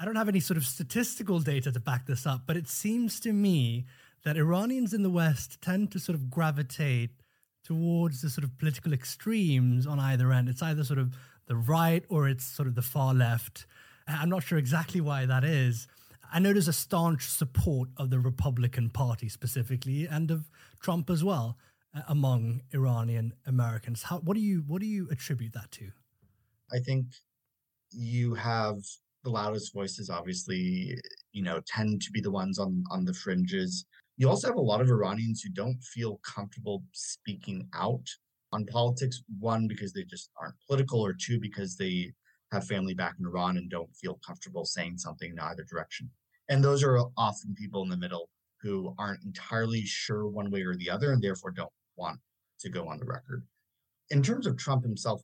I don't have any sort of statistical data to back this up, but it seems to me that Iranians in the West tend to sort of gravitate towards the sort of political extremes on either end. It's either sort of the right or it's sort of the far left. I'm not sure exactly why that is. I know there's a staunch support of the Republican Party specifically and of Trump as well among Iranian Americans. What do you attribute that to? I think you have the loudest voices, obviously, tend to be the ones on the fringes. You also have a lot of Iranians who don't feel comfortable speaking out on politics. One, because they just aren't political, or two, because they have family back in Iran and don't feel comfortable saying something in either direction. And those are often people in the middle who aren't entirely sure one way or the other and therefore don't want to go on the record. In terms of Trump himself,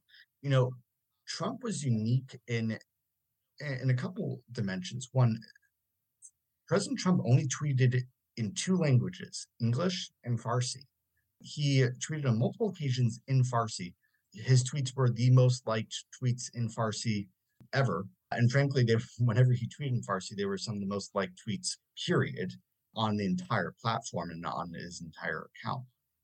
Trump was unique in a couple dimensions. One, President Trump only tweeted in two languages, English and Farsi. He tweeted on multiple occasions in Farsi. His tweets were the most liked tweets in Farsi ever. And frankly, whenever he tweeted in Farsi, they were some of the most liked tweets, period, on the entire platform and on his entire account.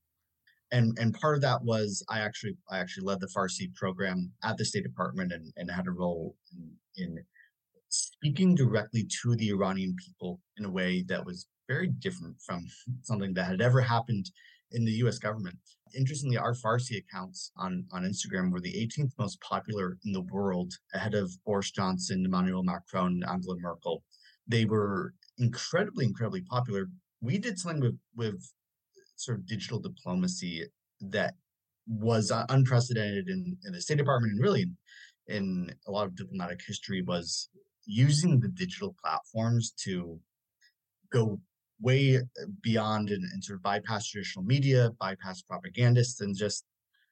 And part of that was I actually led the Farsi program at the State Department and had a role in speaking directly to the Iranian people in a way that was very different from something that had ever happened in the US government. Interestingly, our Farsi accounts on Instagram were the 18th most popular in the world, ahead of Boris Johnson, Emmanuel Macron, Angela Merkel. They were incredibly, incredibly popular. We did something with sort of digital diplomacy that was unprecedented in the State Department and really in a lot of diplomatic history, was using the digital platforms to go way beyond and sort of bypass traditional media, bypass propagandists, and just,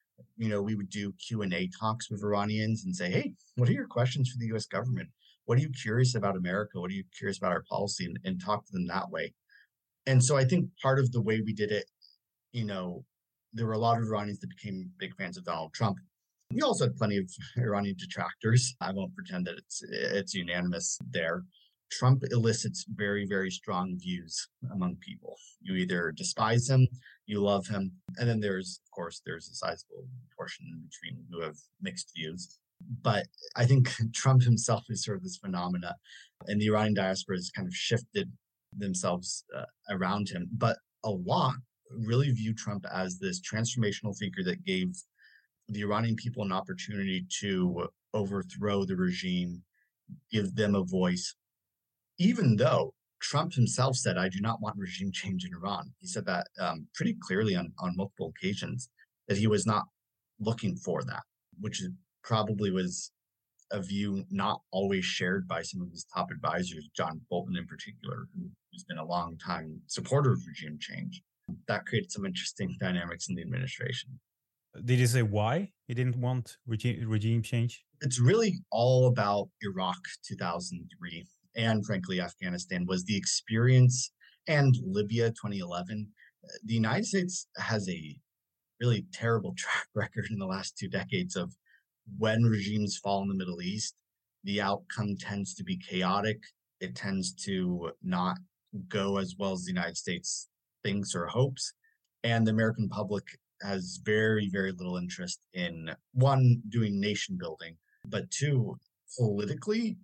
we would do Q&A talks with Iranians and say, hey, what are your questions for the US government? What are you curious about America? What are you curious about our policy? And talk to them that way. And so I think part of the way we did it, there were a lot of Iranians that became big fans of Donald Trump. We also had plenty of Iranian detractors. I won't pretend that it's unanimous there. Trump elicits very, very strong views among people. You either despise him, you love him, and then there's a sizable portion in between who have mixed views. But I think Trump himself is sort of this phenomena, and the Iranian diaspora has kind of shifted themselves around him. But a lot really view Trump as this transformational figure that gave the Iranian people an opportunity to overthrow the regime, give them a voice, even though Trump himself said, I do not want regime change in Iran. He said that pretty clearly on multiple occasions, that he was not looking for that, which probably was a view not always shared by some of his top advisors, John Bolton in particular, who's been a long time supporter of regime change. That created some interesting dynamics in the administration. Did he say why he didn't want regime change? It's really all about Iraq 2003 and frankly Afghanistan was the experience, and Libya 2011. The United States has a really terrible track record in the last 2 decades of when regimes fall in the Middle East, the outcome tends to be chaotic. It tends to not go as well as the United States thinks or hopes. And the American public has very, very little interest in, one, doing nation building, but two, politically,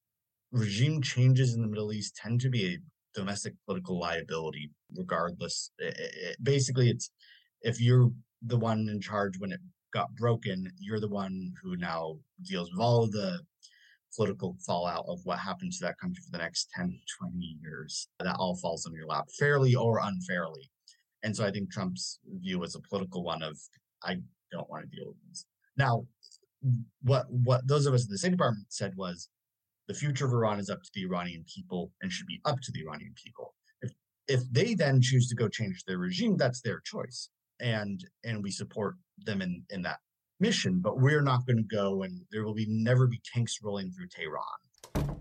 regime changes in the Middle East tend to be a domestic political liability, regardless. Basically, it's if you're the one in charge when it got broken, you're the one who now deals with all of the political fallout of what happened to that country for the next 10, 20 years. That all falls on your lap, fairly or unfairly. And so I think Trump's view was a political one of, I don't want to deal with this. Now, what those of us in the State Department said was, the future of Iran is up to the Iranian people and should be up to the Iranian people. If they then choose to go change their regime, that's their choice. And we support them in that mission, but we're not going to go, and there will never be tanks rolling through Tehran.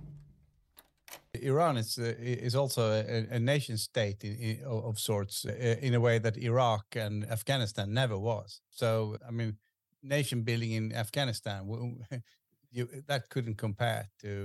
Iran is also a nation state of sorts, in a way that Iraq and Afghanistan never was. So, I mean, nation building in Afghanistan, that couldn't compare to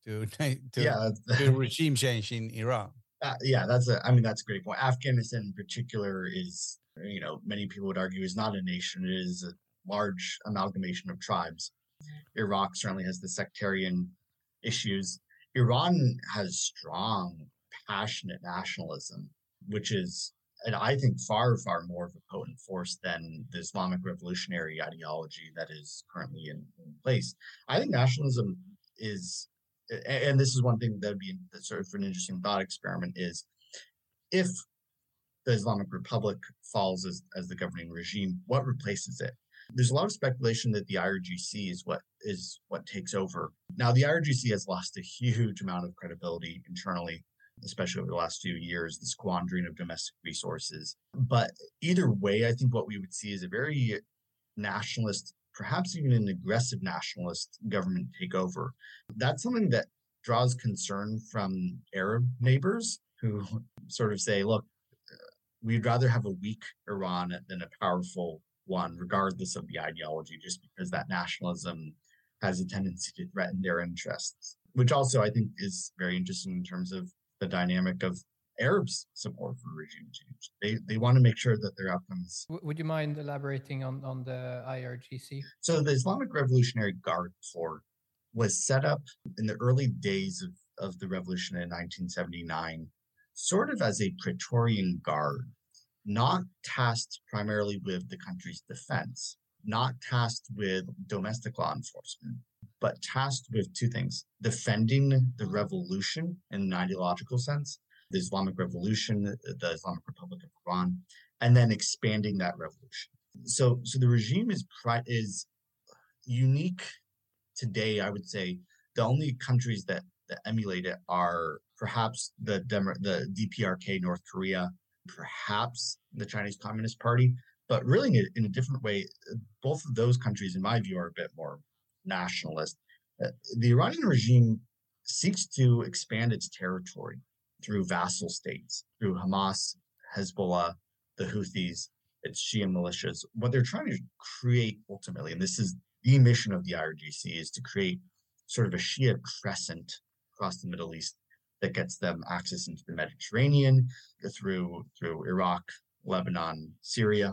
to Yeah, do regime change in Iran. yeah, that's a great point. Afghanistan in particular is, many people would argue is not a nation. It is a large amalgamation of tribes. Iraq certainly has the sectarian issues. Iran has strong, passionate nationalism, which is, and I think, far, far more of a potent force than the Islamic revolutionary ideology that is currently in place. I think nationalism is, and this is one thing that would be sort of an interesting thought experiment, is if the Islamic Republic falls as the governing regime, what replaces it? There's a lot of speculation that the IRGC is what takes over. Now, the IRGC has lost a huge amount of credibility internally, especially over the last few years, the squandering of domestic resources. But either way, I think what we would see is a very nationalist, perhaps even an aggressive nationalist government takeover. That's something that draws concern from Arab neighbors who sort of say, look, we'd rather have a weak Iran than a powerful one, regardless of the ideology, just because that nationalism has a tendency to threaten their interests, which also I think is very interesting in terms of the dynamic of Arabs' support for regime change. They want to make sure that their outcomes. Would you mind elaborating on the IRGC? So the Islamic Revolutionary Guard Corps was set up in the early days of the revolution in 1979, sort of as a Praetorian Guard, not tasked primarily with the country's defense, not tasked with domestic law enforcement, but tasked with two things: defending the revolution in an ideological sense, the Islamic Revolution, the Islamic Republic of Iran, and then expanding that revolution. So the regime is unique today. I would say the only countries that emulate it are perhaps the DPRK, North Korea, perhaps the Chinese Communist Party, but really in a different way. Both of those countries, in my view, are a bit more nationalist. The Iranian regime seeks to expand its territory through vassal states, through Hamas, Hezbollah, the Houthis, its Shia militias. What they're trying to create ultimately, and this is the mission of the IRGC, is to create sort of a Shia crescent across the Middle East that gets them access into the Mediterranean through Iraq, Lebanon, Syria.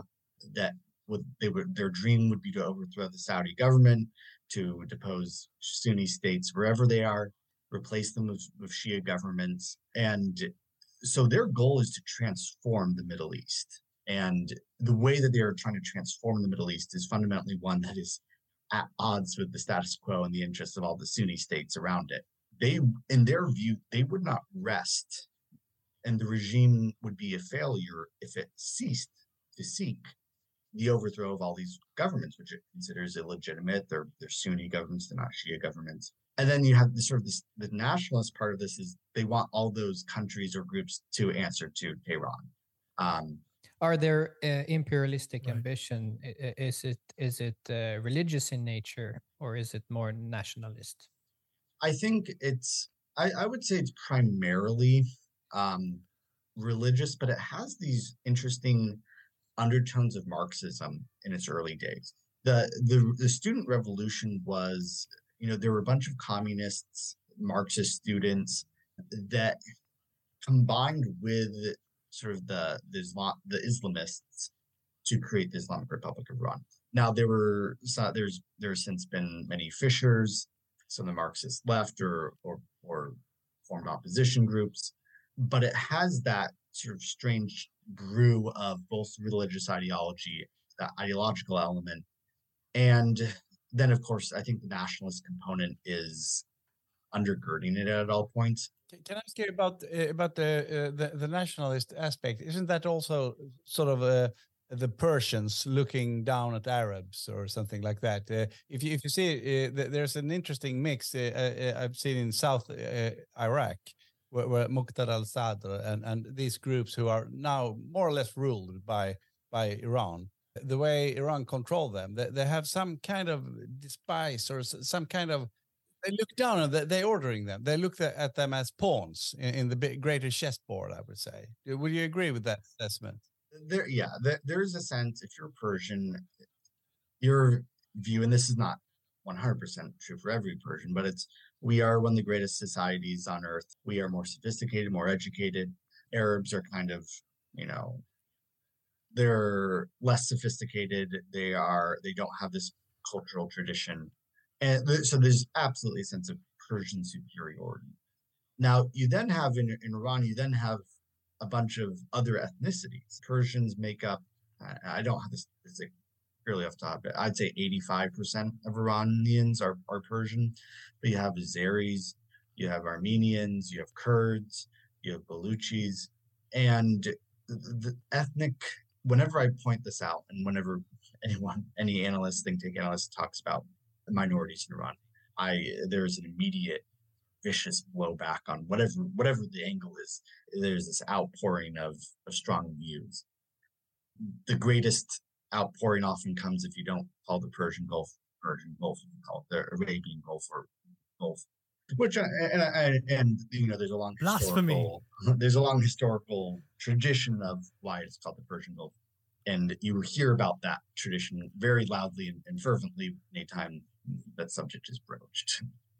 Their dream would be to overthrow the Saudi government, to depose Sunni states wherever they are, replace them with Shia governments. And so their goal is to transform the Middle East. And the way that they are trying to transform the Middle East is fundamentally one that is at odds with the status quo and the interests of all the Sunni states around it. In their view, they would not rest, and the regime would be a failure if it ceased to seek the overthrow of all these governments, which it considers illegitimate. They're Sunni governments, they're not Shia governments. And then you have the nationalist part of this is they want all those countries or groups to answer to Tehran. Are there imperialistic ambition? Is it religious in nature, or is it more nationalist? I think I would say it's primarily religious, but it has these interesting undertones of Marxism in its early days. The student revolution was, there were a bunch of communists, Marxist students that combined with sort of the Islamists to create the Islamic Republic of Iran. Now there's since been many fissures. Some of the Marxist left or formed opposition groups, but it has that sort of strange brew of both religious ideology, that ideological element, and then of course I think the nationalist component is undergirding it at all points. Can I ask you about the nationalist aspect? Isn't that also sort of the Persians looking down at Arabs or something like that? If you see, there's an interesting mix I've seen in South Iraq, where Muqtada al-Sadr and these groups who are now more or less ruled by Iran. The way Iran control them, they have some kind of despise or some kind of. They look down on them. They're ordering them. They look at them as pawns in the greater chessboard, I would say. Would you agree with that assessment? There is a sense, if you're Persian, your view, and this is not 100% true for every Persian, but it's We are one of the greatest societies on earth. We are more sophisticated, more educated. Arabs are kind of, they're less sophisticated. They don't have this cultural tradition. And so there's absolutely a sense of Persian superiority. Now, you then have in Iran, you then have a bunch of other ethnicities. Persians make up, I don't have this statistic purely off the top, but I'd say 85% of Iranians are Persian. But you have Azeris, you have Armenians, you have Kurds, you have Baluchis, and the ethnic, whenever I point this out, and whenever any analyst, think tank analyst talks about the minorities in Iran, there's an immediate vicious blowback on whatever the angle is. There's this outpouring of strong views. The greatest outpouring often comes if you don't call the Persian Gulf, if you call it the Arabian Gulf or Gulf, which and there's a long historical tradition of why it's called the Persian Gulf, and you hear about that tradition very loudly and fervently anytime that subject is broached.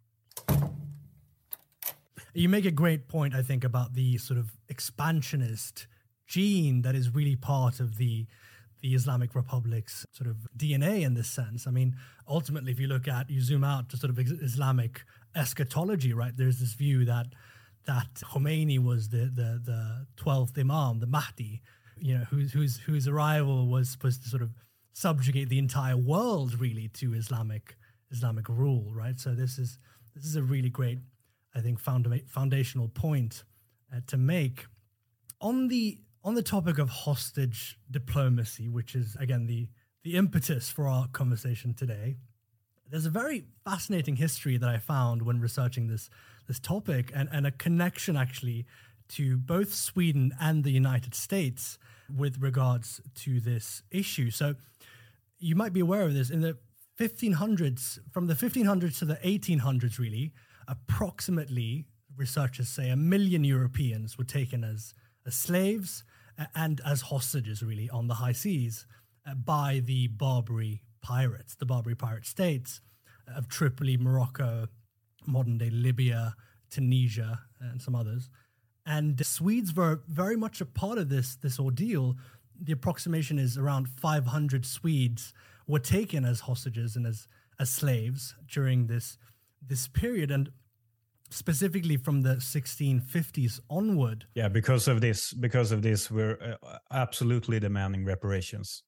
You make a great point, I think, about the sort of expansionist gene that is really part of the Islamic Republic's sort of DNA in this sense. I mean, ultimately, if you zoom out to sort of Islamic eschatology, right? There's this view that Khomeini was the 12th Imam, the Mahdi, whose arrival was supposed to sort of subjugate the entire world really to Islamic rule, right? So this is a really great, I think, foundational point to make. On the topic of hostage diplomacy, which is, again, the impetus for our conversation today, there's a very fascinating history that I found when researching this topic, and a connection actually to both Sweden and the United States with regards to this issue. So you might be aware of this. In the 1500s, from the 1500s to the 1800s, really, approximately, researchers say, 1 million Europeans were taken as slaves and as hostages, really, on the high seas by the Barbary pirates, the Barbary pirate states of Tripoli, Morocco, modern-day Libya, Tunisia, and some others. And Swedes were very much a part of this ordeal. The approximation is around 500 Swedes were taken as hostages and as slaves during this period, and specifically from the 1650s onward. Yeah, because of this, we're absolutely demanding reparations.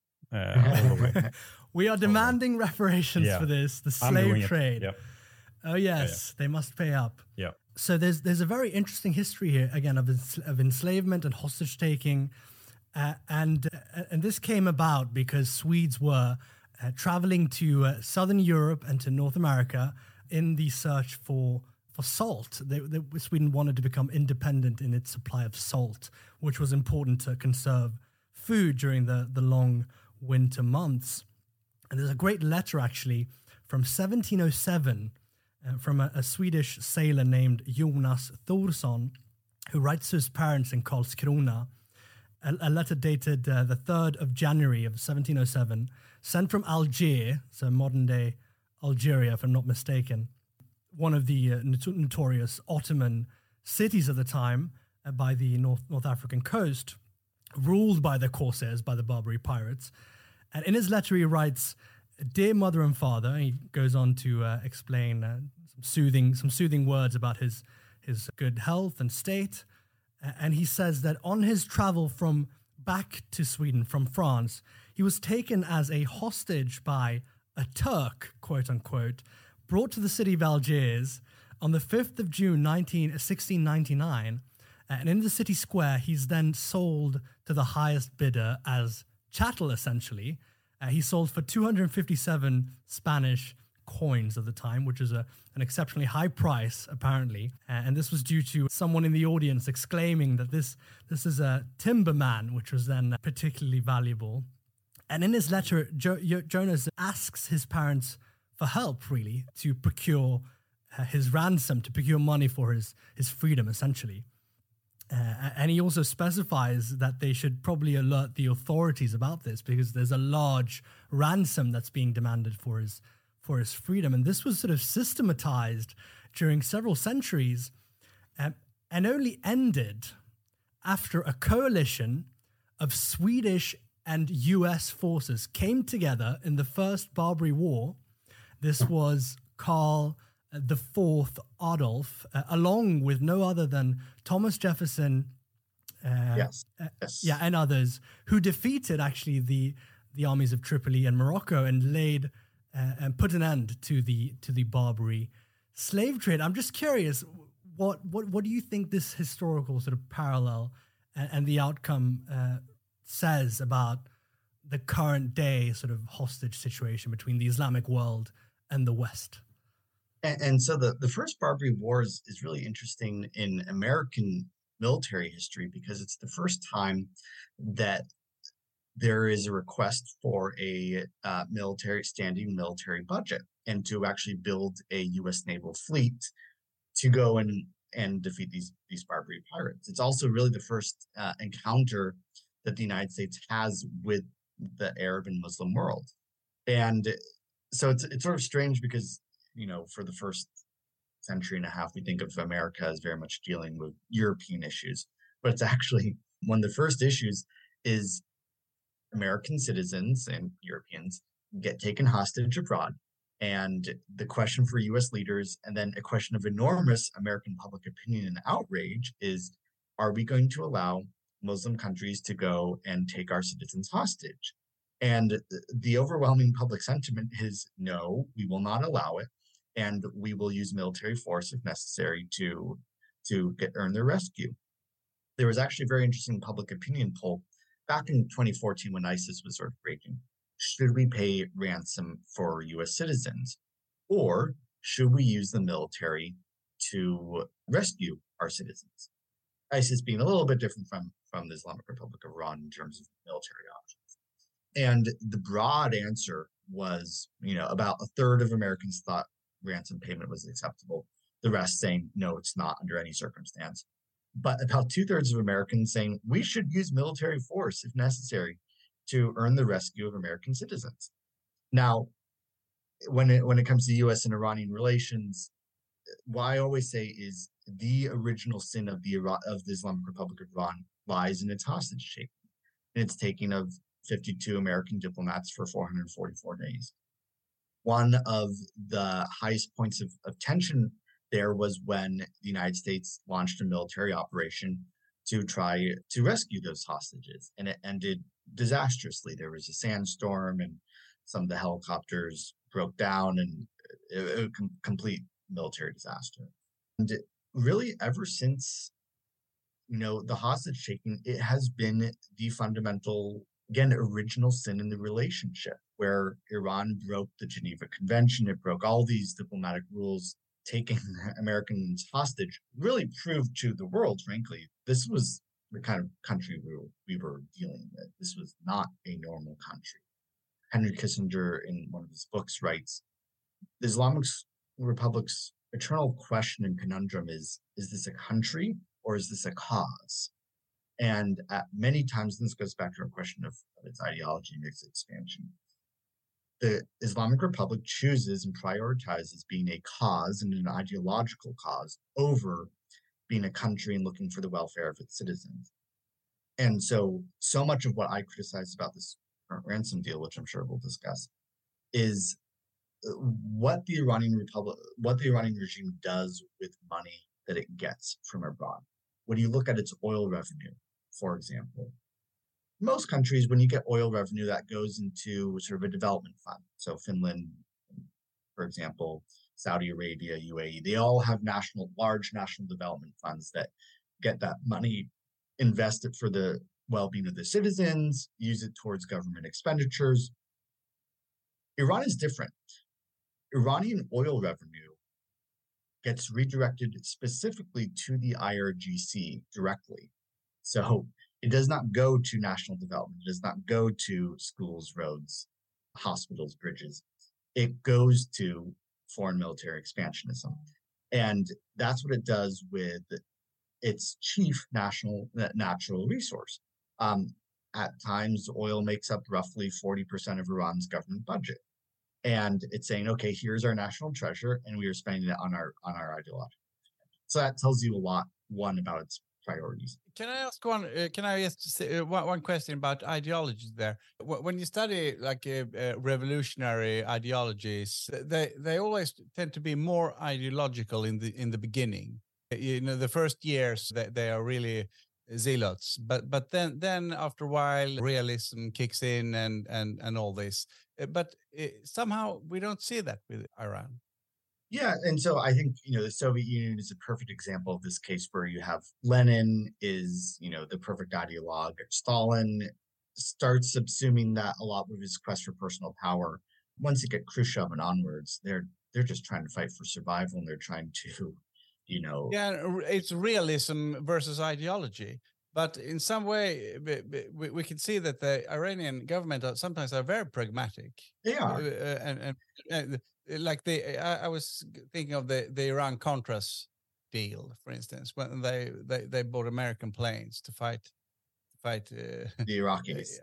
We are demanding reparations for this, the slave trade. Yep. Oh yes, they must pay up. Yeah. So there's a very interesting history here, again, of enslavement and hostage taking, and this came about because Swedes were traveling to Southern Europe and to North America in the search for salt. Sweden wanted to become independent in its supply of salt, which was important to conserve food during the long winter months. And there's a great letter, actually, from 1707 from a Swedish sailor named Jonas Thorsson, who writes to his parents in Karlskrona, a letter dated the 3rd of January of 1707, sent from Algiers, so modern-day Algeria, if I'm not mistaken, one of the notorious Ottoman cities of the time by the North African coast, ruled by the corsairs, by the Barbary pirates. And in his letter, he writes, "Dear mother and father," he goes on to explain some soothing words about his good health and state. And he says that on his travel back to Sweden from France, he was taken as a hostage by a Turk, quote unquote, brought to the city of Algiers on the 5th of June, 1699. And in the city square, he's then sold to the highest bidder as chattel, essentially. He sold for 257 Spanish coins of the time, which is an exceptionally high price, apparently. And this was due to someone in the audience exclaiming that this is a timberman, which was then particularly valuable. And in his letter, Jonas asks his parents for help, really, to procure his ransom, to procure money for his freedom, essentially. And he also specifies that they should probably alert the authorities about this because there's a large ransom that's being demanded for for his freedom. And this was sort of systematized during several centuries and only ended after a coalition of Swedish and US forces came together in the First Barbary War. This was Karl the Fourth Adolf, along with no other than Thomas Jefferson, Yes. and others, who defeated actually the armies of Tripoli and Morocco and laid and put an end to the Barbary slave trade. I'm just curious, what do you think this historical sort of parallel and the outcome says about the current day sort of hostage situation between the Islamic world and the West? And so the First Barbary Wars is really interesting in American military history because it's the first time that there is a request for a standing military budget and to actually build a U.S. naval fleet to go and defeat these Barbary pirates. It's also really the first encounter that the United States has with the Arab and Muslim world. And so it's sort of strange because, for the first century and a half, we think of America as very much dealing with European issues, but it's actually one of the first issues is American citizens and Europeans get taken hostage abroad. And the question for US leaders, and then a question of enormous American public opinion and outrage is, are we going to allow Muslim countries to go and take our citizens hostage? And the overwhelming public sentiment is, no, we will not allow it. And we will use military force if necessary to earn their rescue. There was actually a very interesting public opinion poll back in 2014 when ISIS was sort of raging. Should we pay ransom for US citizens? Or should we use the military to rescue our citizens? ISIS being a little bit different from the Islamic Republic of Iran in terms of military options. And the broad answer was, about a third of Americans thought ransom payment was acceptable. The rest saying, no, it's not under any circumstance. But about 2/3 of Americans saying we should use military force if necessary to earn the rescue of American citizens. Now, when it comes to U.S. and Iranian relations, what I always say is the original sin of the Islamic Republic of Iran lies in its hostage taking, in its taking of 52 American diplomats for 444 days. One of the highest points of tension there was when the United States launched a military operation to try to rescue those hostages, and it ended disastrously. There was a sandstorm and some of the helicopters broke down, and it was a complete military disaster. And really, ever since, the hostage taking, it has been the fundamental, again, original sin in the relationship, where Iran broke the Geneva Convention. It broke all these diplomatic rules. Taking Americans hostage really proved to the world, frankly, this was the kind of country we were dealing with. This was not a normal country. Henry Kissinger, in one of his books, writes, the Islamic Republic's eternal question and conundrum is this a country or is this a cause? And at many times, this goes back to our question of its ideology and its expansion. The Islamic Republic chooses and prioritizes being a cause and an ideological cause over being a country and looking for the welfare of its citizens. And so much of what I criticize about this current ransom deal, which I'm sure we'll discuss, is what the Iranian regime does with money that it gets from abroad. When you look at its oil revenue, for example, most countries, when you get oil revenue, that goes into sort of a development fund. So Finland, for example, Saudi Arabia, UAE, they all have large national development funds that get that money invested for the well-being of the citizens, use it towards government expenditures. Iran is different. Iranian oil revenue gets redirected specifically to the IRGC directly. So it does not go to national development. It does not go to schools, roads, hospitals, bridges. It goes to foreign military expansionism. And that's what it does with its chief natural resource. At times, oil makes up roughly 40% of Iran's government budget. And it's saying, okay, here's our national treasure, and we are spending it on our ideology. So that tells you a lot, one, about its priorities. Can I ask one? Can I just say one question about ideology there? When you study like revolutionary ideologies, they always tend to be more ideological in the beginning. You know, the first years they are really zealots, but then after a while realism kicks in and all this. But somehow we don't see that with Iran. Yeah, and so I think, the Soviet Union is a perfect example of this case where you have Lenin is, the perfect ideologue. Stalin starts subsuming that a lot with his quest for personal power. Once you get Khrushchev and onwards, they're just trying to fight for survival, and they're trying to, Yeah, it's realism versus ideology. But in some way, we can see that the Iranian government sometimes are very pragmatic. They are. And like I was thinking of the Iran-Contras deal, for instance, when they bought American planes to fight the Iraqis.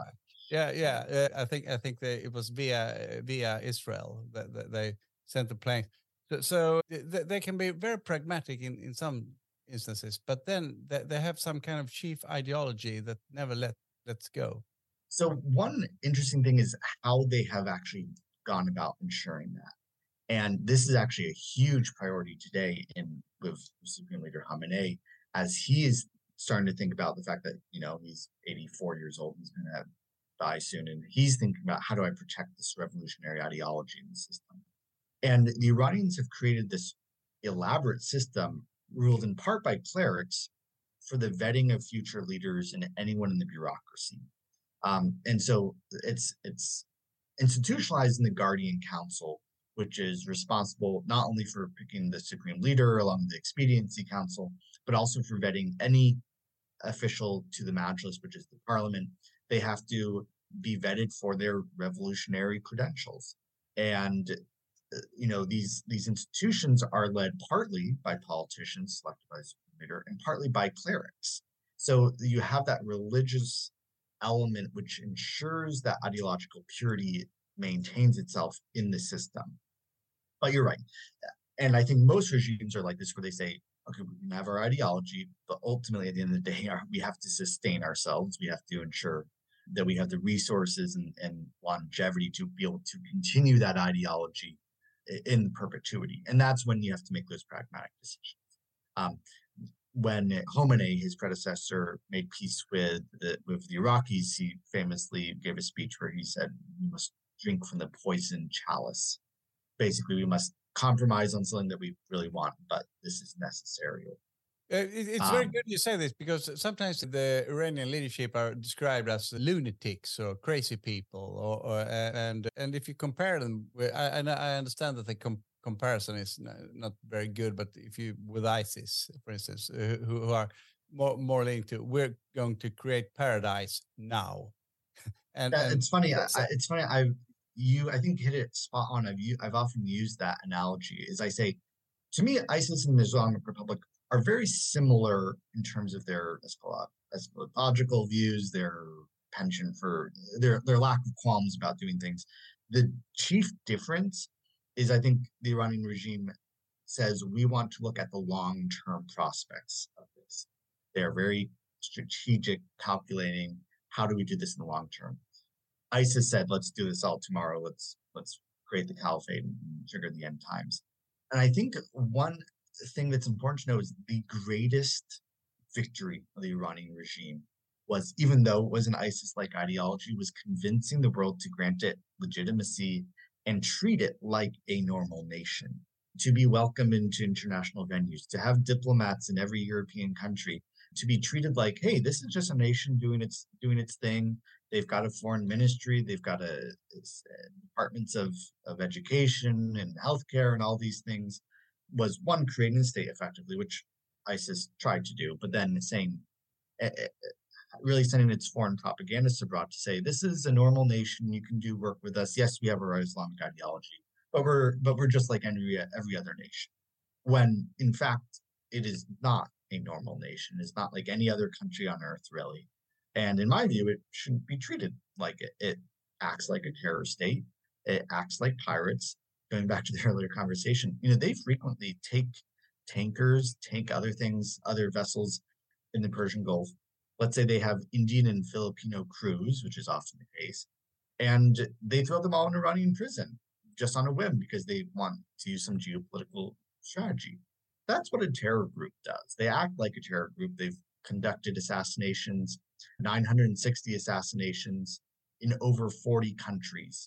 Yeah. I think it was via Israel that they sent the plane. So they can be very pragmatic in some instances, but then they have some kind of chief ideology that never lets go. So one interesting thing is how they have actually gone about ensuring that. And this is actually a huge priority today with Supreme Leader Khamenei, as he is starting to think about the fact that, he's 84 years old, he's going to die soon. And he's thinking about, how do I protect this revolutionary ideology in the system? And the Iranians have created this elaborate system ruled in part by clerics for the vetting of future leaders and anyone in the bureaucracy. And so it's institutionalized in the Guardian Council, which is responsible not only for picking the supreme leader along with the Expediency Council, but also for vetting any official to the Majlis, which is the parliament. They have to be vetted for their revolutionary credentials. And these institutions are led partly by politicians selected by the supreme leader and partly by clerics. So you have that religious element which ensures that ideological purity maintains itself in the system. But you're right. And I think most regimes are like this, where they say, okay, we can have our ideology, but ultimately at the end of the day, we have to sustain ourselves. We have to ensure that we have the resources and longevity to be able to continue that ideology in perpetuity. And that's when you have to make those pragmatic decisions. When Khomeini, his predecessor, made peace with the Iraqis, he famously gave a speech where he said, we must drink from the poison chalice. Basically, we must compromise on something that we really want, but this is necessary. It's very good you say this, because sometimes the Iranian leadership are described as lunatics or crazy people, and if you compare them, and I understand that the comparison is not very good, but if you with ISIS, for instance, who are more linked to, we're going to create paradise now, and it's funny. It's funny. I think hit it spot on. I've often used that analogy. As I say, to me, ISIS and the Islamic Republic are very similar in terms of their eschatological views, their penchant for their lack of qualms about doing things. The chief difference is, I think, the Iranian regime says we want to look at the long-term prospects of this. They're very strategic, calculating, how do we do this in the long term? ISIS said, let's do this all tomorrow. Let's create the caliphate and trigger the end times. And I think one thing that's important to know is the greatest victory of the Iranian regime was, even though it was an ISIS-like ideology, was convincing the world to grant it legitimacy and treat it like a normal nation, to be welcomed into international venues, to have diplomats in every European country, to be treated like, hey, this is just a nation doing its thing. They've got a foreign ministry, they've got departments of education and healthcare and all these things. Was one, creating a state effectively, which ISIS tried to do, but then really sending its foreign propagandists abroad to say, this is a normal nation, you can do work with us. Yes, we have our Islamic ideology, but we're just like every other nation. When in fact, it is not a normal nation. It's not like any other country on earth, really. And in my view, it shouldn't be treated like it. It acts like a terror state. It acts like pirates. Going back to the earlier conversation, they frequently take tankers, take other things, other vessels in the Persian Gulf. Let's say they have Indian and Filipino crews, which is often the case, and they throw them all in Iranian prison just on a whim because they want to use some geopolitical strategy. That's what a terror group does. They act like a terror group. They've conducted assassinations, 960 assassinations in over 40 countries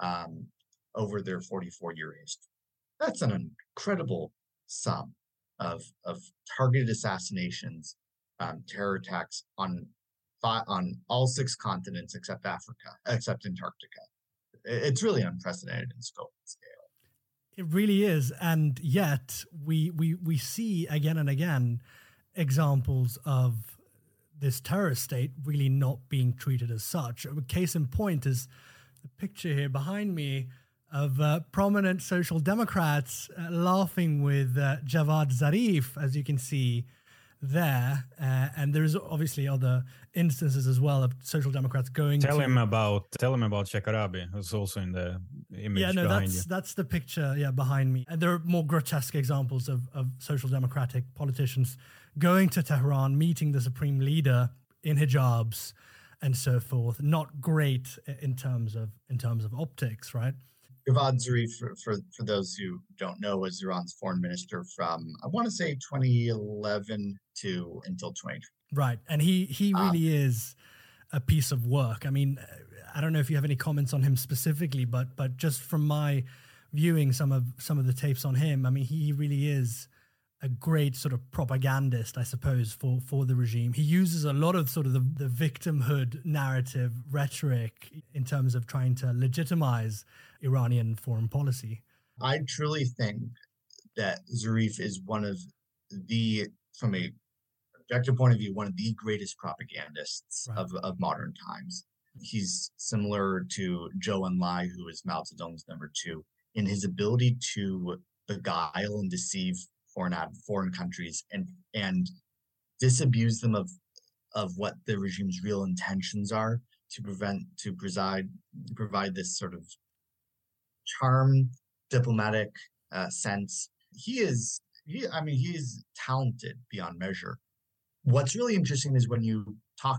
over their 44-year history. That's an incredible sum of targeted assassinations, terror attacks on all 6 continents except Antarctica. It's really unprecedented in scope and scale. It really is, and yet we see again and again examples of this terrorist state really not being treated as such. A case in point is the picture here behind me of prominent social democrats laughing with Javad Zarif, as you can see there. And there's obviously other instances as well of social democrats going Tell him about Shekarabi, who's also in the image behind you. That's the picture, behind me. And there are more grotesque examples of social democratic politicians going to Tehran, meeting the supreme leader in hijabs and so forth. Not great in terms of optics, right? Javad Zarif, for those who don't know, was Iran's foreign minister from, I want to say, 2011 until 2020. Right, and he really is a piece of work. I mean, I don't know if you have any comments on him specifically, but just from my viewing some of the tapes on him, I mean, he really is a great sort of propagandist, I suppose, for the regime. He uses a lot of sort of the victimhood narrative rhetoric in terms of trying to legitimize Iranian foreign policy. I truly think that Zarif is one of the, from a objective point of view, one of the greatest propagandists of modern times. He's similar to Zhou Enlai, who is Mao Zedong's number 2, in his ability to beguile and deceive foreign countries and disabuse them of what the regime's real intentions are to provide this sort of charm, diplomatic sense. He is talented beyond measure. What's really interesting is when you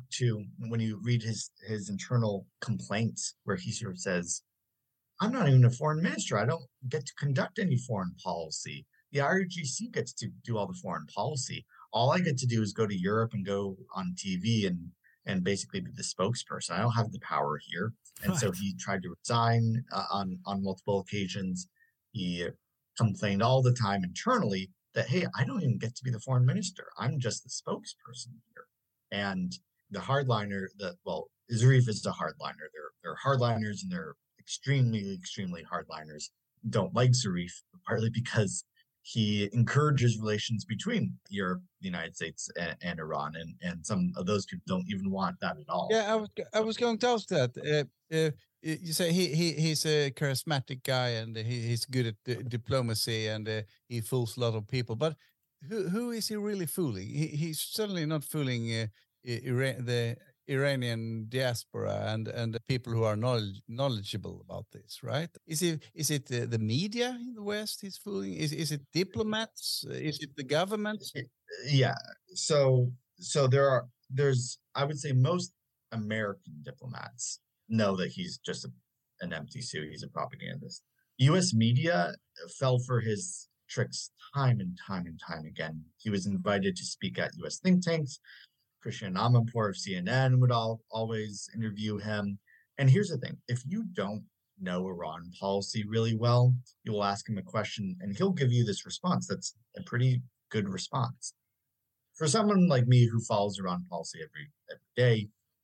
read his internal complaints, where he sort of says, I'm not even a foreign minister. I don't get to conduct any foreign policy. The IRGC gets to do all the foreign policy. All I get to do is go to Europe and go on TV and basically be the spokesperson. I don't have the power here. And so he tried to resign on multiple occasions. He complained all the time internally that, hey, I don't even get to be the foreign minister. I'm just the spokesperson here. And the hardliner, Zarif is a hardliner. They're hardliners, and they're extremely, extremely hardliners. Don't like Zarif, partly because he encourages relations between Europe, the United States, and Iran, and some of those people don't even want that at all. Yeah, I was going to ask that. You say he's a charismatic guy, and he's good at diplomacy, and he fools a lot of people. But who is he really fooling? He's certainly not fooling the Iranian diaspora and the people who are knowledgeable about this, right? Is it the media in the West he's fooling? Is it diplomats? Is it the government? Yeah. So there's I would say most American diplomats know that he's just an empty suit. He's a propagandist. U.S. media fell for his tricks time and time and time again. He was invited to speak at U.S. think tanks. Christian Amanpour of CNN would always interview him. And here's the thing. If you don't know Iran policy really well, you will ask him a question and he'll give you this response that's a pretty good response. For someone like me who follows Iran policy every day,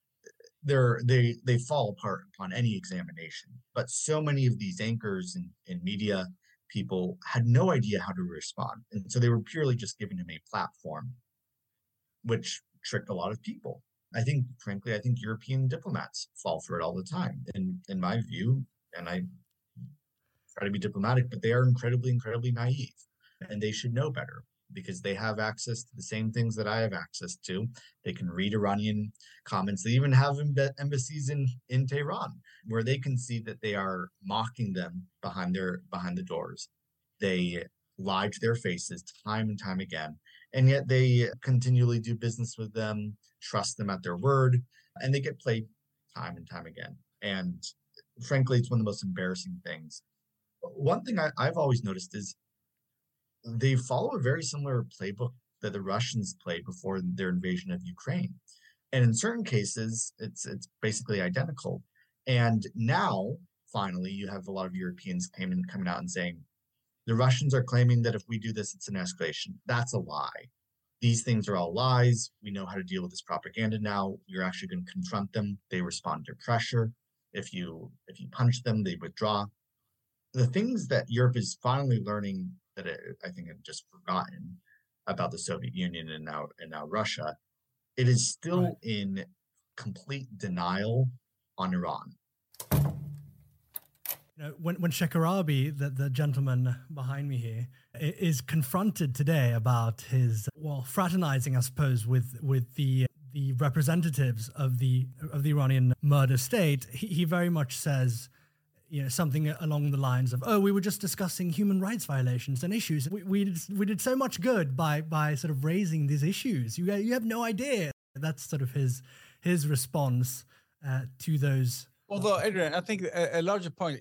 they fall apart upon any examination. But so many of these anchors and media people had no idea how to respond. And so they were purely just giving him a platform, which tricked a lot of people. I think European diplomats fall for it all the time. In my view, and I try to be diplomatic, but they are incredibly, incredibly naive, and they should know better. because they have access to the same things that I have access to. They can read Iranian comments. They even have embassies in Tehran where they can see that they are mocking them behind the doors. They lie to their faces time and time again, and yet they continually do business with them, trust them at their word, and they get played time and time again. And frankly, it's one of the most embarrassing things. One thing I've always noticed is they follow a very similar playbook that the Russians played before their invasion of Ukraine. And in certain cases, it's basically identical. And now, finally, you have a lot of Europeans coming out and saying, the Russians are claiming that if we do this, it's an escalation. That's a lie. These things are all lies. We know how to deal with this propaganda now. You're actually going to confront them. They respond to pressure. If you punch them, they withdraw. The things that Europe is finally learning that I think I've just forgotten about the Soviet Union and now Russia, it is still in complete denial on Iran. You know, when Shekarabi, the gentleman behind me here, is confronted today about his fraternizing, I suppose, with the representatives of the Iranian murder state, he very much says, you know, something along the lines of, "Oh, we were just discussing human rights violations and issues. We did so much good by sort of raising these issues. You have no idea." That's sort of his response to those. Although, Adrian, I think a larger point,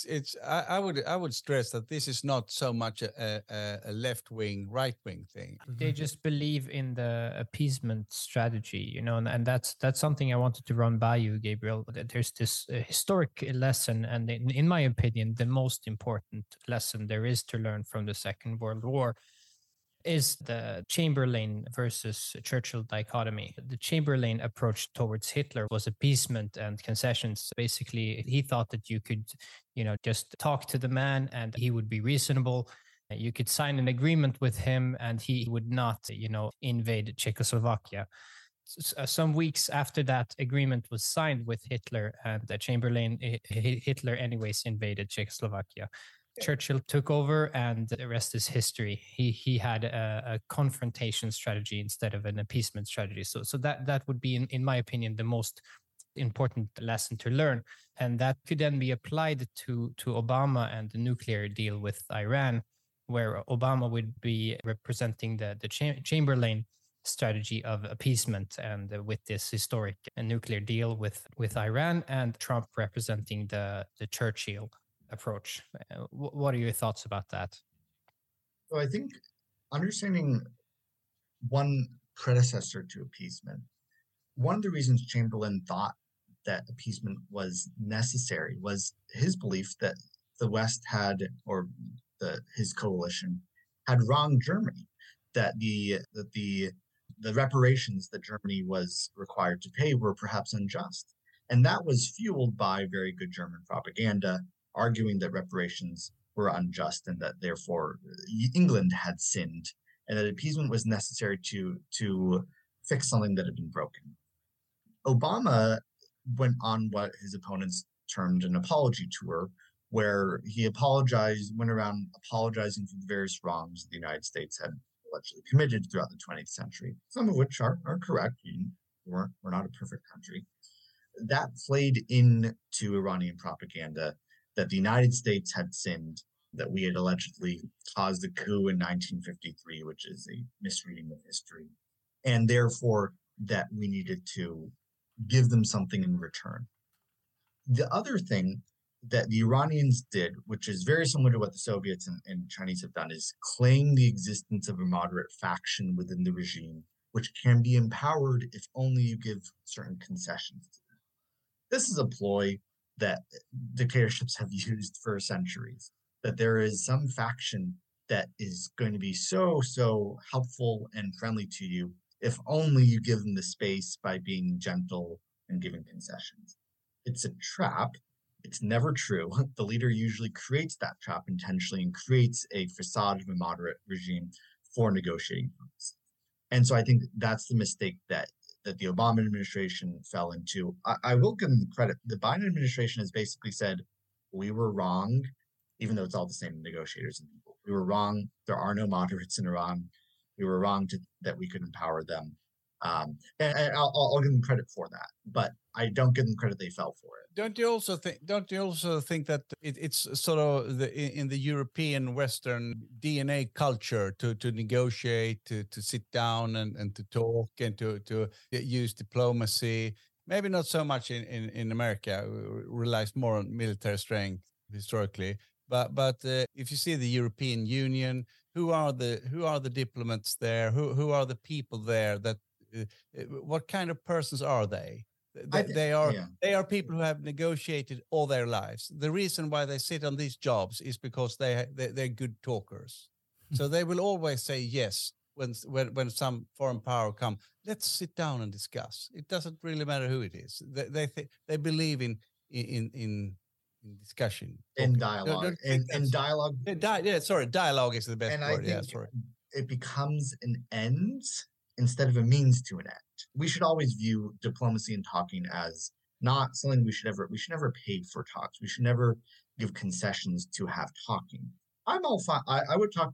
I would stress that this is not so much a left-wing, right-wing thing. They just believe in the appeasement strategy, you know, and that's something I wanted to run by you, Gabriel. There's this historic lesson, and in my opinion, the most important lesson there is to learn from the Second World War is the Chamberlain versus Churchill dichotomy. The Chamberlain approach towards Hitler was appeasement and concessions. Basically, he thought that you could, you know, just talk to the man and he would be reasonable. You could sign an agreement with him and he would not, you know, invade Czechoslovakia. Some weeks after that agreement was signed with Hitler and Hitler anyways invaded Czechoslovakia. Churchill took over and the rest is history. He had a confrontation strategy instead of an appeasement strategy. So that would be, in my opinion, the most important lesson to learn. And that could then be applied to Obama and the nuclear deal with Iran, where Obama would be representing the Chamberlain strategy of appeasement and with this historic nuclear deal with Iran, and Trump representing the Churchill approach. What are your thoughts about that? So I think understanding one predecessor to appeasement, one of the reasons Chamberlain thought that appeasement was necessary was his belief that the West had, or his coalition had wronged Germany, that the reparations that Germany was required to pay were perhaps unjust. And that was fueled by very good German propaganda, arguing that reparations were unjust and that therefore England had sinned, and that appeasement was necessary to fix something that had been broken. Obama went on what his opponents termed an apology tour, where he went around apologizing for the various wrongs the United States had allegedly committed throughout the 20th century, some of which are correct. We're not a perfect country. That played into Iranian propaganda that the United States had sinned, that we had allegedly caused a coup in 1953, which is a misreading of history, and therefore that we needed to give them something in return. The other thing that the Iranians did, which is very similar to what the Soviets and Chinese have done, is claim the existence of a moderate faction within the regime, which can be empowered if only you give certain concessions to them. This is a ploy that dictatorships have used for centuries, that there is some faction that is going to be so helpful and friendly to you if only you give them the space by being gentle and giving concessions. It's a trap. It's never true. The leader usually creates that trap intentionally and creates a facade of a moderate regime for negotiating purposes. And so I think that's the mistake that the Obama administration fell into. I will give them credit. The Biden administration has basically said, we were wrong, even though it's all the same negotiators and people. We were wrong. There are no moderates in Iran. We were wrong that we could empower them. And I'll give them credit for that, but I don't give them credit they fell for it. Don't you also think that it's sort of in the European Western DNA culture to negotiate, to sit down and to talk and to use diplomacy? Maybe not so much in America. We relies more on military strength historically. But if you see the European Union, who are the diplomats there? Who are the people there? That what kind of persons are they? They are people who have negotiated all their lives. The reason why they sit on these jobs is because they're good talkers. So they will always say yes when some foreign power come. Let's sit down and discuss. It doesn't really matter who it is. They believe in discussion, in dialogue, and dialogue. Dialogue is the best and word. I think it becomes an end instead of a means to an end. We should always view diplomacy and talking as not something we should never pay for talks. We should never give concessions to have talking. I'm all fine. I would talk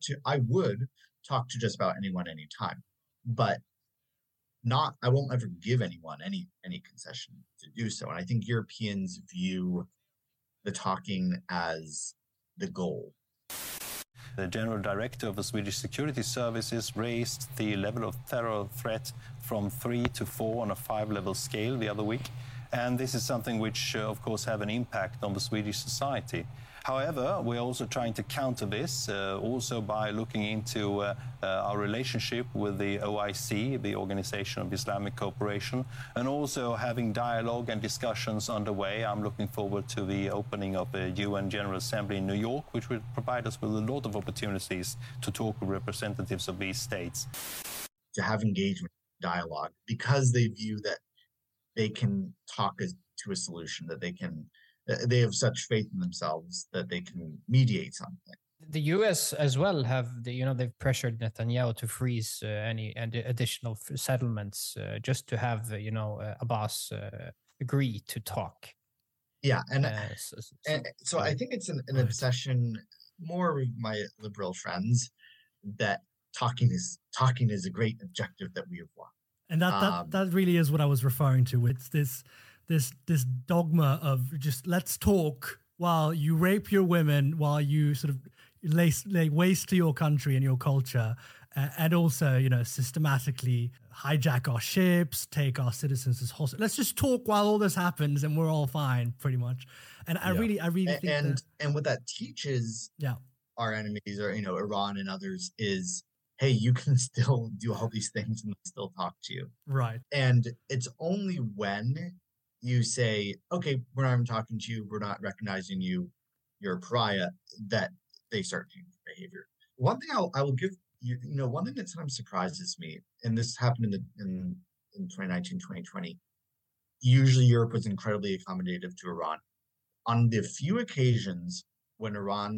to just about anyone anytime, but I won't ever give anyone any concession to do so. And I think Europeans view the talking as the goal. The General Director of the Swedish Security Services raised the level of terror threat from 3 to 4 on a 5-level scale the other week. And this is something which, of course, have an impact on the Swedish society. However, we're also trying to counter this also by looking into our relationship with the OIC, the Organization of Islamic Cooperation, and also having dialogue and discussions underway. I'm looking forward to the opening of the UN General Assembly in New York, which will provide us with a lot of opportunities to talk with representatives of these states. To have engagement, dialogue, because they view that they can talk to a solution, that they have such faith in themselves that they can mediate something. The U.S. as well they've pressured Netanyahu to freeze any additional settlements just to have Abbas agree to talk. Yeah, so I think it's an obsession more with my liberal friends that talking is a great objective that we have won. And that really is what I was referring to. It's this dogma of just let's talk while you rape your women, while you sort of lay waste to your country and your culture, and also systematically hijack our ships, take our citizens as hostages. Let's just talk while all this happens, and we're all fine, pretty much. And I really think and what that teaches our enemies, or Iran and others, is, hey, you can still do all these things and still talk to you, right? And it's only when you say, okay, we're not even talking to you, we're not recognizing you, you're a pariah, that they start changing behavior. One thing I will give you, one thing that sometimes surprises me, and this happened in 2019, 2020, usually Europe was incredibly accommodative to Iran. On the few occasions when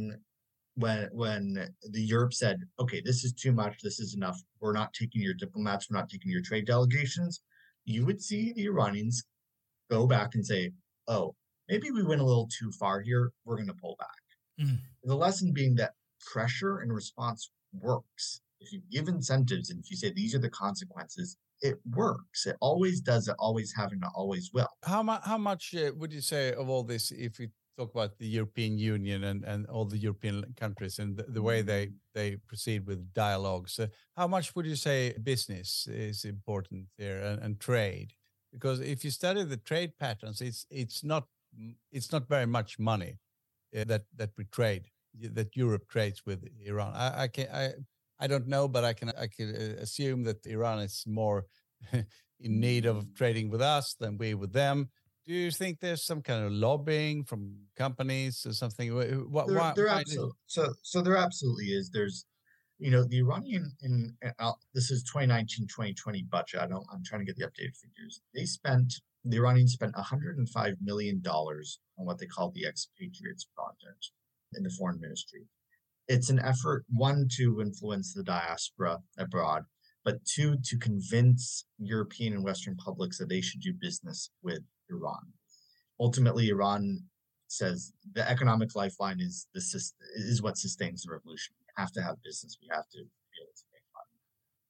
when the Europe said, okay, this is too much, this is enough, we're not taking your diplomats, we're not taking your trade delegations, you would see the Iranians go back and say, oh, maybe we went a little too far here, we're going to pull back. The lesson being that pressure and response works. If you give incentives and if you say these are the consequences, it works. It always does. It always have, and it always will. How much would you say of all this, if we talk about the European Union and all the European countries and the way they proceed with dialogues, how much would you say business is important here and trade? Because if you study the trade patterns, it's not very much money that we trade, that Europe trades with Iran. I don't know, but I can assume that Iran is more in need of trading with us than we with them. Do you think there's some kind of lobbying from companies or something? There absolutely is. There's, the Iranian, this is 2019, 2020 budget. I'm trying to get the updated figures. The Iranians spent $105 million on what they call the Expatriates Project in the foreign ministry. It's an effort, one, to influence the diaspora abroad, but two, to convince European and Western publics that they should do business with Iran. Ultimately, Iran says the economic lifeline is what sustains the revolution. We have to have business. We have to be able to make money.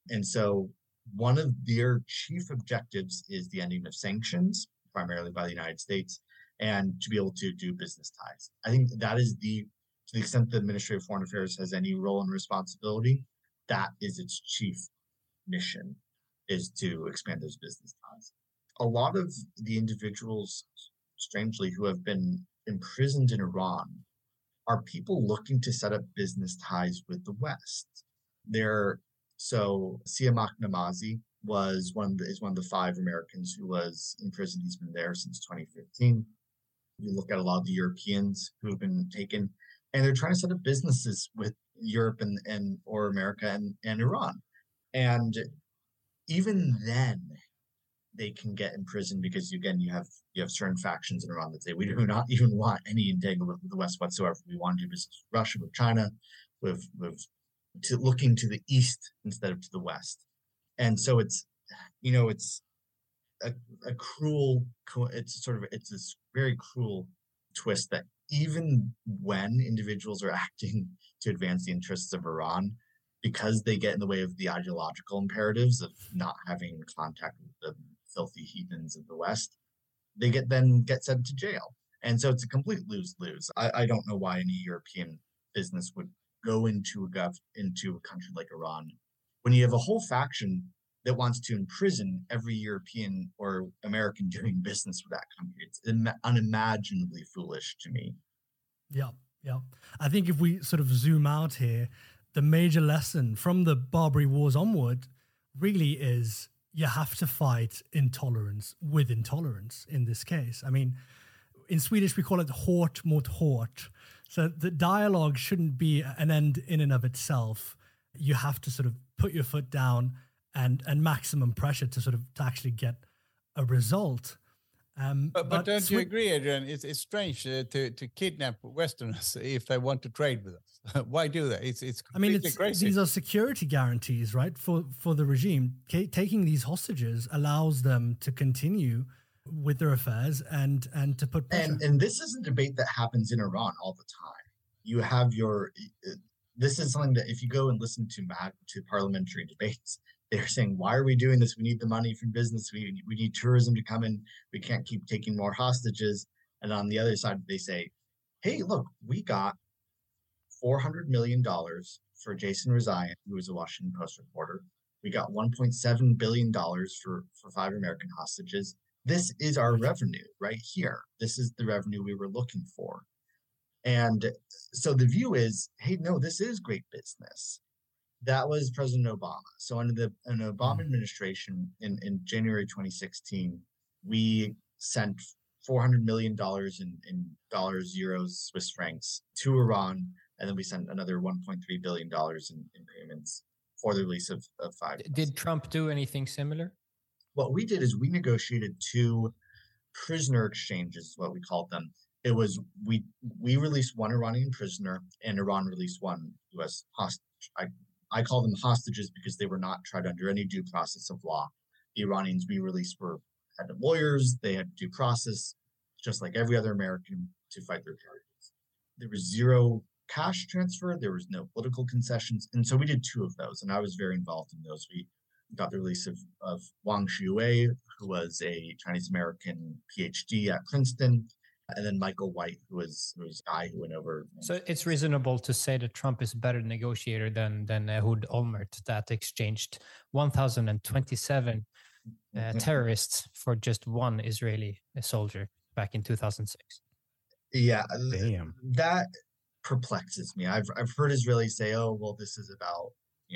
And so one of their chief objectives is the ending of sanctions, primarily by the United States, and to be able to do business ties. I think that is to the extent the Ministry of Foreign Affairs has any role and responsibility, that is its chief mission, is to expand those business ties. A lot of the individuals, strangely, who have been imprisoned in Iran are people looking to set up business ties with the West. So Siamak Namazi is one of the 5 Americans who was imprisoned. He's been there since 2015. You look at a lot of the Europeans who have been taken, and they're trying to set up businesses with Europe or America and Iran. And even then, they can get imprisoned because, again, you have certain factions in Iran that say we do not even want any entanglement with the West whatsoever. We want to do business with Russia, with China, with looking to the East instead of to the West. And so it's a cruel, it's this very cruel twist that even when individuals are acting to advance the interests of Iran, because they get in the way of the ideological imperatives of not having contact with the filthy heathens of the West, they get sent to jail. And so it's a complete lose-lose. I don't know why any European business would go into a country like Iran when you have a whole faction that wants to imprison every European or American doing business with that country. It's unimaginably foolish to me. Yeah. I think if we sort of zoom out here, the major lesson from the Barbary Wars onward really is you have to fight intolerance with intolerance in this case. I mean, in Swedish, we call it hårt mot hårt. So the dialogue shouldn't be an end in and of itself. You have to sort of put your foot down and maximum pressure to actually get a result. But don't you agree, Adrian? It's strange to kidnap Westerners if they want to trade with us. Why do that? It's completely crazy. These are security guarantees, right, for the regime. Taking these hostages allows them to continue with their affairs and to put pressure. And this is a debate that happens in Iran all the time. You have this is something that if you go and listen to parliamentary debates, they're saying, why are we doing this? We need the money from business. We need tourism to come in. We can't keep taking more hostages. And on the other side, they say, hey, look, we got $400 million for Jason Rezaian, who was a Washington Post reporter. We got $1.7 billion for 5 American hostages. This is our revenue right here. This is the revenue we were looking for. And so the view is, hey, no, this is great business. That was President Obama. So under an Obama administration in January 2016, we sent $400 million in dollars, euros, Swiss francs to Iran. And then we sent another $1.3 billion in payments for the release of 5. Did Trump do anything similar? What we did is we negotiated 2 prisoner exchanges, is what we called them. It was we released 1 Iranian prisoner and Iran released 1 U.S. hostage. I call them hostages because they were not tried under any due process of law. The Iranians we released had lawyers, they had due process, just like every other American, to fight their charges. There was 0 cash transfer, there was no political concessions, and so we did 2 of those, and I was very involved in those. We got the release of Wang Xiwei, who was a Chinese-American PhD at Princeton, and then Michael White, who was a guy who went over. So it's reasonable to say that Trump is a better negotiator than Ehud Olmert, that exchanged 1,027 terrorists for just 1 Israeli soldier back in 2006. Yeah, Damn. That perplexes me. I've heard Israelis say, "Oh, well, this is about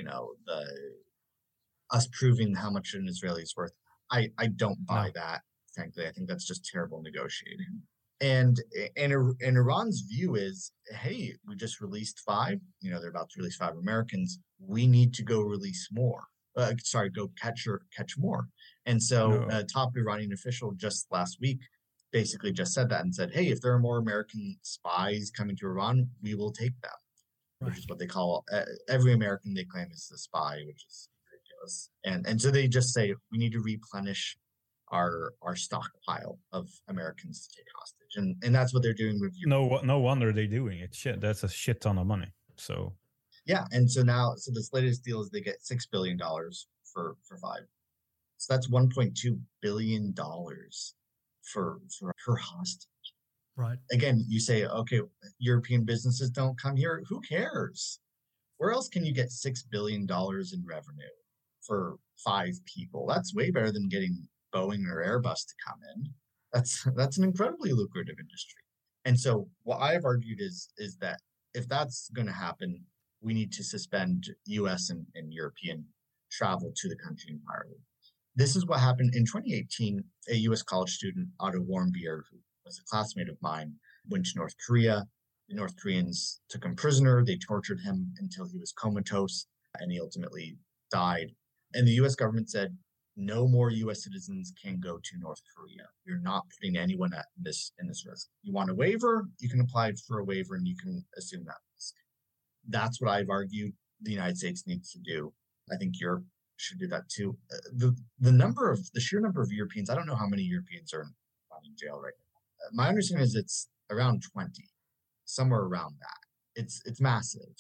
us proving how much an Israeli is worth." I don't buy that. Frankly, I think that's just terrible negotiating. And Iran's view is, hey, we just released 5. They're about to release 5 Americans. We need to go release more. Go catch more. And so a top Iranian official just last week basically just said that and said, hey, if there are more American spies coming to Iran, we will take them, which is what they call every American they claim is a spy, which is ridiculous. And so they just say, we need to replenish our stockpile of Americans to take hostage, and that's what they're doing with you. No wonder they're doing it. Shit, that's a shit ton of money. So Yeah, and so now, so this latest deal is they get $6 billion for 5. So that's $1.2 billion for per hostage. Right. Again, you say, okay, European businesses don't come here. Who cares? Where else can you get $6 billion in revenue for 5 people? That's way better than getting Boeing or Airbus to come in. That's an incredibly lucrative industry. And so what I've argued is that if that's going to happen, we need to suspend US and European travel to the country entirely. This is what happened in 2018. A US college student, Otto Warmbier, who was a classmate of mine, went to North Korea. The North Koreans took him prisoner. They tortured him until he was comatose, and he ultimately died. And the US government said, no more US citizens can go to North Korea. You're not putting anyone at this risk. You want a waiver, you can apply for a waiver and you can assume that risk. That's what I've argued the United States needs to do. I think Europe should do that too. The sheer number of Europeans, I don't know how many Europeans are in jail right now. My understanding is it's around 20, somewhere around that. It's massive.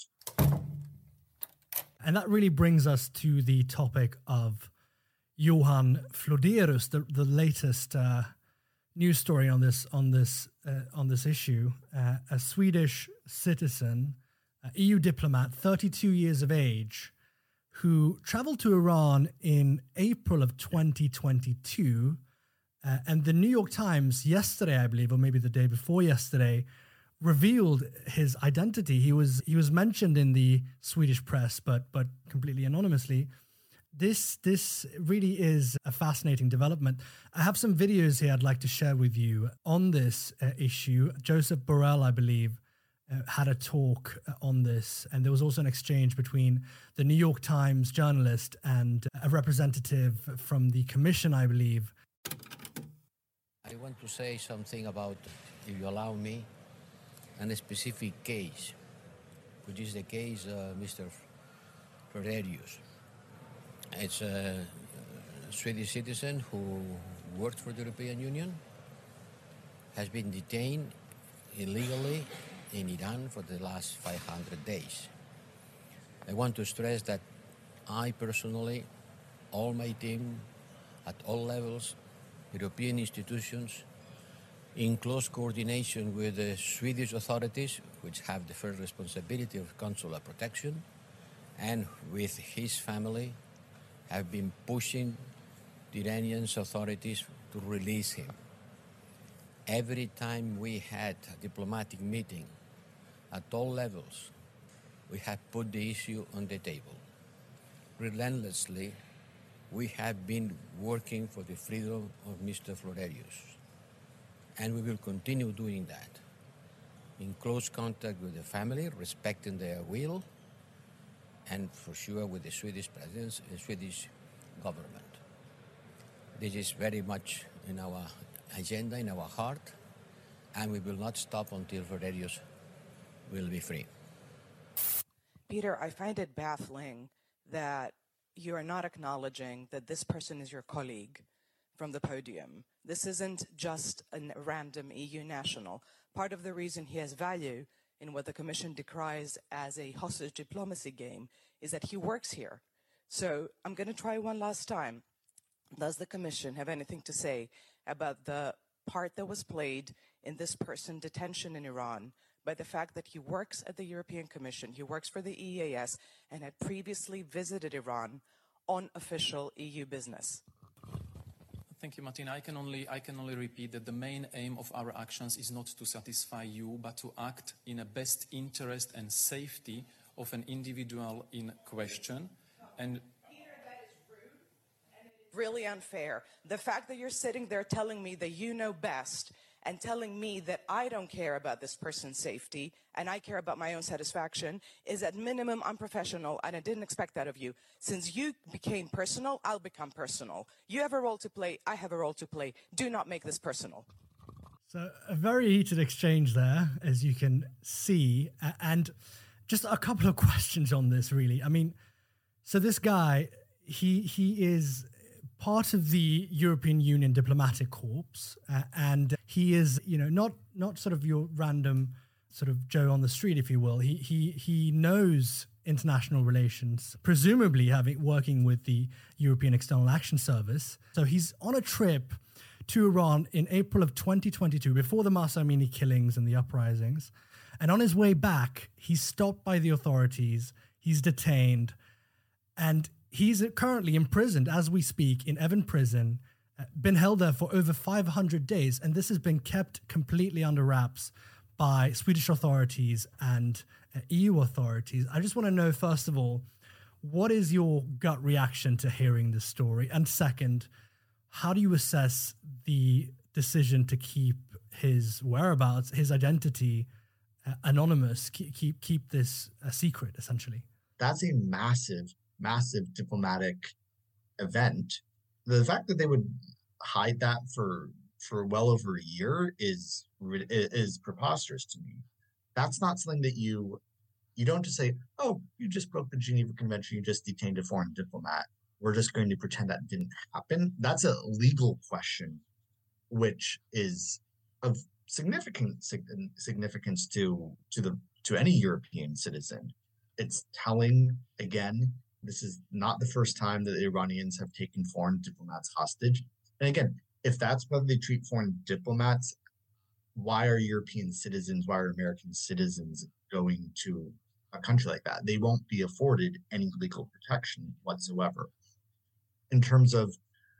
And that really brings us to the topic of Johan Flodérus, the latest news story on this issue. A Swedish citizen, EU diplomat, 32 years of age, who traveled to Iran in April of 2022. And the New York Times yesterday, I believe, or maybe the day before yesterday, revealed his identity. He was mentioned in the Swedish press, but completely anonymously. This really is a fascinating development. I have some videos here I'd like to share with you on this issue. Joseph Borrell, I believe, had a talk on this, and there was also an exchange between the New York Times journalist and a representative from the commission, I believe. I want to say something about, if you allow me, a specific case, which is the case Mr. Flodérus. It's a Swedish citizen who worked for the European Union, has been detained illegally in Iran for the last 500 days. I want to stress that I personally, all my team, at all levels, European institutions, in close coordination with the Swedish authorities, which have the first responsibility of consular protection, and with his family, have been pushing the Iranian authorities to release him. Every time we had a diplomatic meeting at all levels, we have put the issue on the table. Relentlessly, we have been working for the freedom of Mr. Flodérus, and we will continue doing that in close contact with the family, respecting their will, and for sure with the Swedish presidency and Swedish government. This is very much in our agenda, in our heart, and we will not stop until Flodérus will be free. Peter, I find it baffling that you are not acknowledging that this person is your colleague from the podium. This isn't just a random EU national. Part of the reason he has value in what the Commission decries as a hostage diplomacy game is that he works here. So I'm going to try one last time. Does the Commission have anything to say about the part that was played in this person's detention in Iran by the fact that he works at the European Commission, he works for the EEAS, and had previously visited Iran on official EU business? Thank you, Martina. I can only repeat that the main aim of our actions is not to satisfy you, but to act in the best interest and safety of an individual in question. And Peter, that is rude and it is really unfair. The fact that you're sitting there telling me that you know best and telling me that I don't care about this person's safety and I care about my own satisfaction is at minimum unprofessional, and I didn't expect that of you. Since you became personal, I'll become personal. You have a role to play, I have a role to play. Do not make this personal. So a very heated exchange there, as you can see, and just a couple of questions on this, really. I mean, so this guy, he is part of the European Union diplomatic corps, and he is, not sort of your random sort of Joe on the street, if you will. He knows international relations, presumably working with the European External Action Service. So he's on a trip to Iran in April of 2022, before the Mahsa Amini killings and the uprisings. And on his way back, he's stopped by the authorities, he's detained, and he's currently imprisoned as we speak in Evin prison, been held there for over 500 days, and this has been kept completely under wraps by Swedish authorities and EU authorities. I just want to know, first of all, what is your gut reaction to hearing this story? And second, how do you assess the decision to keep his whereabouts, his identity anonymous, keep this a secret, essentially? That's a massive, massive diplomatic event. The fact that they would hide that for well over a year is preposterous to me. That's not something that you don't just say, oh, you just broke the Geneva Convention, you just detained a foreign diplomat, we're just going to pretend that didn't happen. That's a legal question, which is of significant significance to any European citizen. It's telling, again, this is not the first time that the Iranians have taken foreign diplomats hostage. And again, if that's whether they treat foreign diplomats, why are European citizens, why are American citizens going to a country like that? They won't be afforded any legal protection whatsoever. In terms of,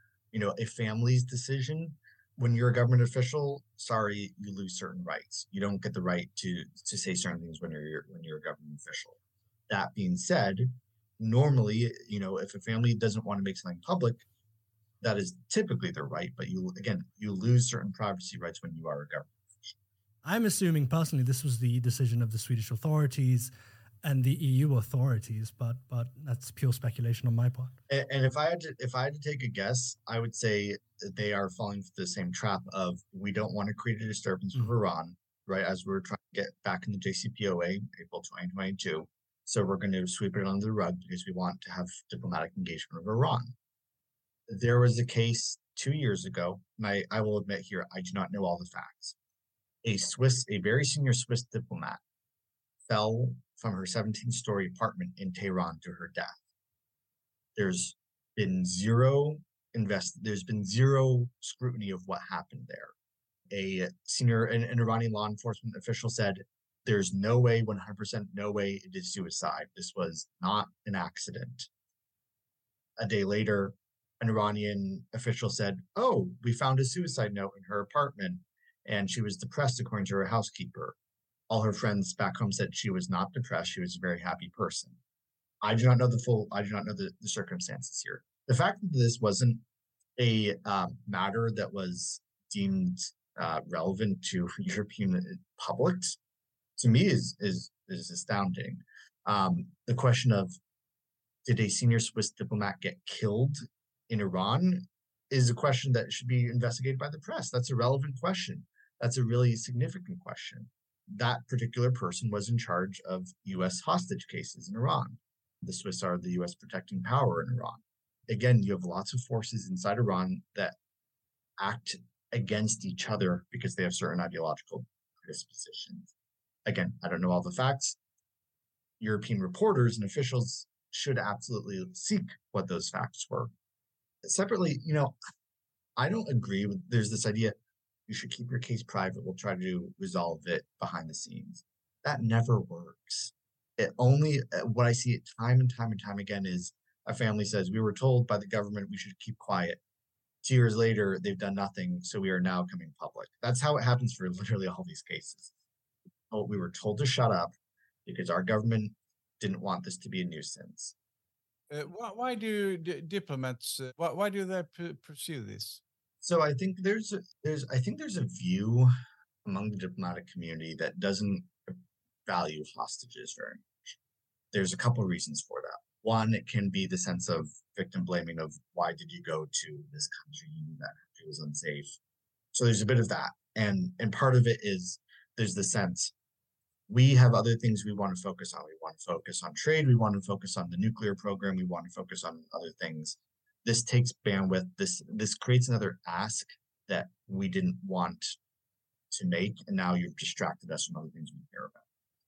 a family's decision, when you're a government official, sorry, you lose certain rights. You don't get the right to say certain things when you're a government official. That being said, normally, if a family doesn't want to make something public, that is typically their right. But you lose certain privacy rights when you are a government official. I'm assuming personally this was the decision of the Swedish authorities and the EU authorities, but that's pure speculation on my part. And if I had to take a guess, I would say they are falling for the same trap of, we don't want to create a disturbance with Iran, right? As we're trying to get back in the JCPOA, April 2022. So we're going to sweep it under the rug because we want to have diplomatic engagement with Iran. There was a case 2 years ago, and I will admit here, I do not know all the facts. A very senior Swiss diplomat fell from her 17-story apartment in Tehran to her death. There's been zero scrutiny of what happened there. An Iranian law enforcement official said, there's no way, 100% no way it is suicide. This was not an accident. A day later, an Iranian official said, oh, we found a suicide note in her apartment, and she was depressed, according to her housekeeper. All her friends back home said she was not depressed. She was a very happy person. I do not know the circumstances here. The fact that this wasn't a matter that was deemed relevant to European publics, to me, is astounding. The question of, did a senior Swiss diplomat get killed in Iran, is a question that should be investigated by the press. That's a relevant question. That's a really significant question. That particular person was in charge of U.S. hostage cases in Iran. The Swiss are the U.S. protecting power in Iran. Again, you have lots of forces inside Iran that act against each other because they have certain ideological predispositions. Again, I don't know all the facts. European reporters and officials should absolutely seek what those facts were. Separately, I don't agree with, there's this idea, you should keep your case private, we'll try to resolve it behind the scenes. That never works. What I see time and time again is a family says, we were told by the government we should keep quiet. 2 years later, they've done nothing, so we are now coming public. That's how it happens for literally all these cases. We were told to shut up because our government didn't want this to be a nuisance. Why do diplomats? Why do they pursue this? So I think there's a view among the diplomatic community that doesn't value hostages very much. There's a couple of reasons for that. One, it can be the sense of victim blaming of, why did you go to this country? You knew that country was unsafe. So there's a bit of that, and part of it is there's the sense, we have other things we want to focus on. We want to focus on trade. We want to focus on the nuclear program. We want to focus on other things. This takes bandwidth. This creates another ask that we didn't want to make, and now you've distracted us from other things we care about.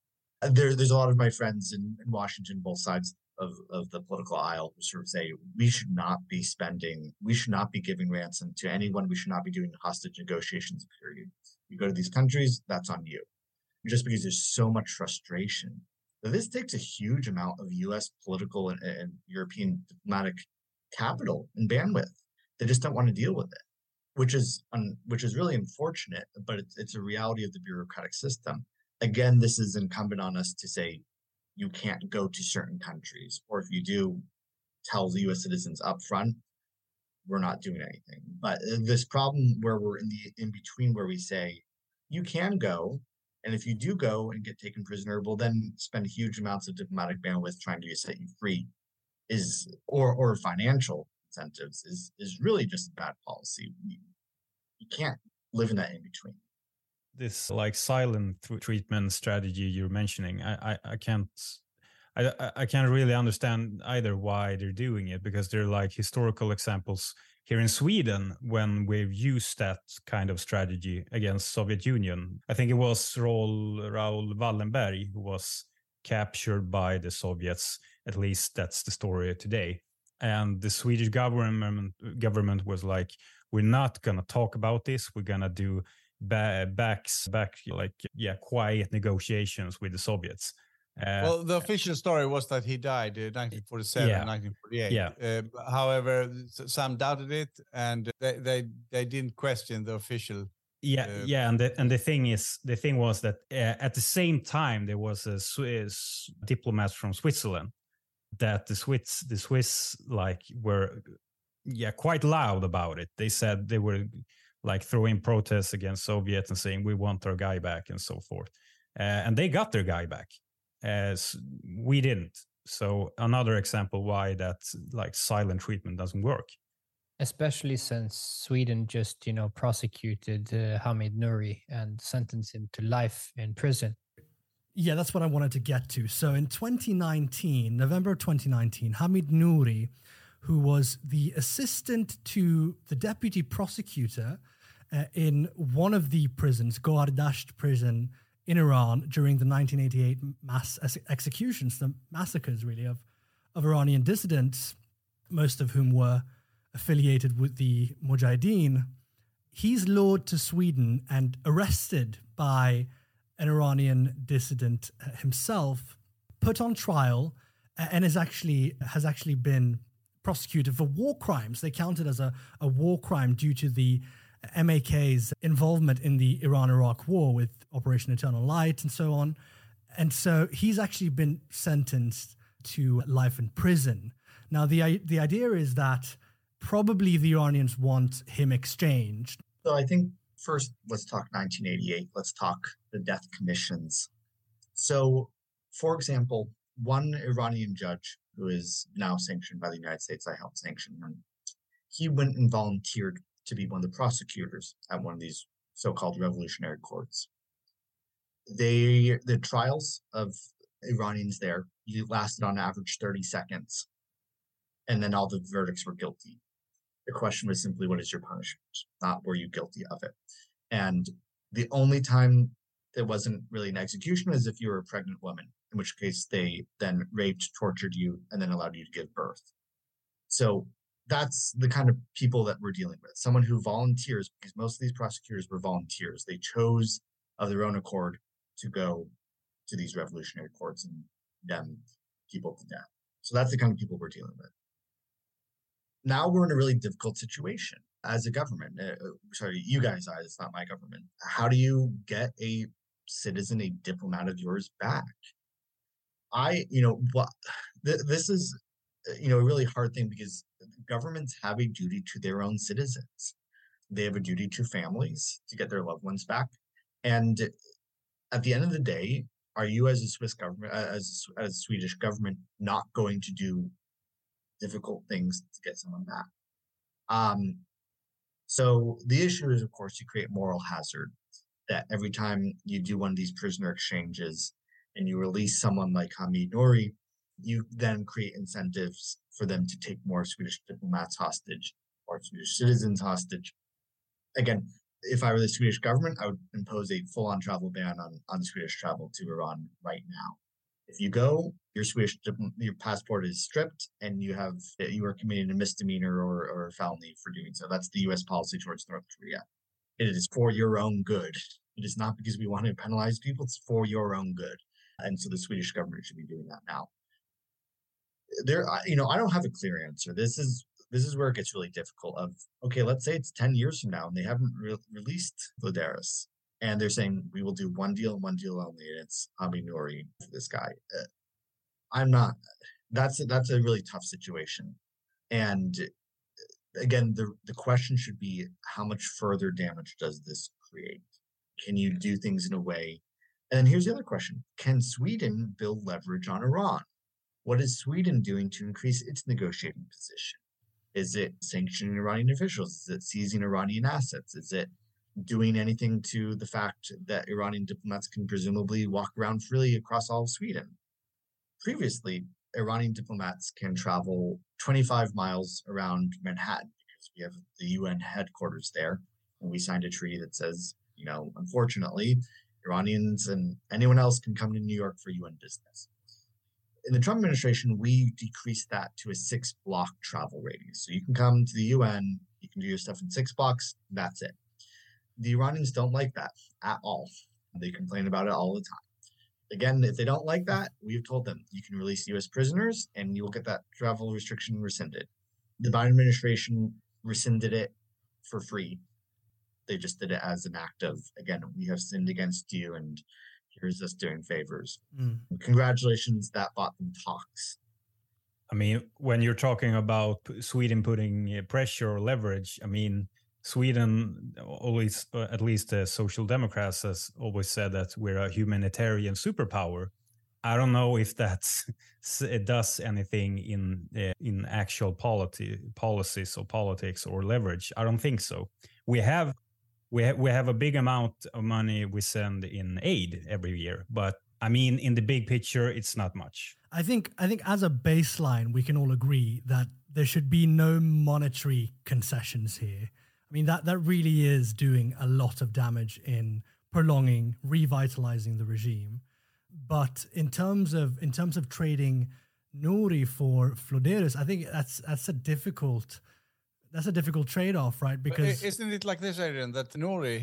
there's a lot of my friends in Washington, both sides of the political aisle, who sort of say we should not be giving ransom to anyone. We should not be doing hostage negotiations, period. You go to these countries, that's on you. Just because there's so much frustration. This takes a huge amount of U.S. political and European diplomatic capital and bandwidth. They just don't want to deal with it, which is really unfortunate, but it's a reality of the bureaucratic system. Again, this is incumbent on us to say you can't go to certain countries, or if you do, tell the U.S. citizens up front, we're not doing anything. But this problem where we're in between, where we say you can go, and if you do go and get taken prisoner, we'll then spend huge amounts of diplomatic bandwidth trying to set you free, or financial incentives is really just a bad policy. You can't live in that in between. This like silent treatment strategy you're mentioning, I can't really understand either why they're doing it, because they're like historical examples here in Sweden when we've used that kind of strategy against Soviet Union. I think it was Raoul Wallenberg who was captured by the Soviets. At least that's the story today. And the Swedish government was like, we're not going to talk about this. We're going to do quiet negotiations with the Soviets. Well, the official story was that he died in 1947, 1948. Yeah. However, some doubted it, and they didn't question the official. And the thing was that at the same time there was a Swiss diplomat from Switzerland that the Swiss like were quite loud about it. They said they were like throwing protests against Soviets and saying we want our guy back and so forth, and they got their guy back, as we didn't. So another example why that like silent treatment doesn't work. Especially since Sweden just prosecuted Hamid Nouri and sentenced him to life in prison. Yeah, that's what I wanted to get to. So in 2019, November 2019, Hamid Nouri, who was the assistant to the deputy prosecutor in one of the prisons, Gohardasht prison in Iran during the 1988 mass executions, the massacres really of Iranian dissidents, most of whom were affiliated with the Mujahideen, he's lured to Sweden and arrested by an Iranian dissident himself, put on trial, and has actually been prosecuted for war crimes. They count it as a war crime due to the MAK's involvement in the Iran-Iraq war with Operation Eternal Light and so on. And so he's actually been sentenced to life in prison. Now, the idea is that probably the Iranians want him exchanged. So I think first, let's talk 1988. Let's talk the death commissions. So, for example, one Iranian judge who is now sanctioned by the United States, I helped sanction him, he went and volunteered to be one of the prosecutors at one of these so-called revolutionary courts. The trials of Iranians there lasted on average 30 seconds, and then all the verdicts were guilty. The question was simply, what is your punishment? Not were you guilty of it? And the only time there wasn't really an execution is if you were a pregnant woman, in which case they then raped, tortured you, and then allowed you to give birth. So that's the kind of people that we're dealing with. Someone who volunteers, because most of these prosecutors were volunteers. They chose of their own accord to go to these revolutionary courts and condemn people to death. So that's the kind of people we're dealing with. Now we're in a really difficult situation as a government. You guys are, it's not my government. How do you get a citizen, a diplomat of yours back? This is, a really hard thing, because governments have a duty to their own citizens. They have a duty to families to get their loved ones back. And at the end of the day, are you as a Swiss government, as a Swedish government, not going to do difficult things to get someone back? So the issue is, of course, you create moral hazard, that every time you do one of these prisoner exchanges and you release someone like Hamid Nouri, you then create incentives for them to take more Swedish diplomats hostage or Swedish citizens hostage. Again, if I were the Swedish government, I would impose a full-on travel ban on Swedish travel to Iran right now. If you go, your passport is stripped, and you are committing a misdemeanor or felony for doing so. That's the U.S. policy towards North Korea. It is for your own good. It is not because we want to penalize people. It's for your own good, and so the Swedish government should be doing that now. I don't have a clear answer. This is where it gets really difficult. Okay, let's say it's 10 years from now, and they haven't released Flederis. And they're saying, we will do one deal only, and it's Hami Nouri for this guy. That's a really tough situation. And again, the question should be, how much further damage does this create? Can you do things in a way? And then here's the other question. Can Sweden build leverage on Iran? What is Sweden doing to increase its negotiating position? Is it sanctioning Iranian officials? Is it seizing Iranian assets? Is it doing anything to the fact that Iranian diplomats can presumably walk around freely across all of Sweden? Previously, Iranian diplomats can travel 25 miles around Manhattan because we have the UN headquarters there. And we signed a treaty that says, unfortunately, Iranians and anyone else can come to New York for UN business. In the Trump administration, we decreased that to a 6-block travel radius. So you can come to the UN, you can do your stuff in 6 blocks, that's it. The Iranians don't like that at all. They complain about it all the time. Again, if they don't like that, we've told them you can release U.S. prisoners and you will get that travel restriction rescinded. The Biden administration rescinded it for free. They just did it as an act of, again, we have sinned against you and here's us doing favors. Congratulations, that bought them talks. I mean, when you're talking about Sweden putting pressure or leverage, I mean, Sweden always, at least the Social Democrats, has always said that we're a humanitarian superpower. I don't know if it does anything in actual policies or politics or leverage. I don't think so. We have a big amount of money we send in aid every year, but I mean, in the big picture, it's not much. I think as a baseline, we can all agree that there should be no monetary concessions here. I mean, that really is doing a lot of damage in prolonging, revitalizing the regime. But in terms of trading Nouri for Flederis, I think that's a difficult trade-off, right? Because isn't it like this, Adrian, that Nouri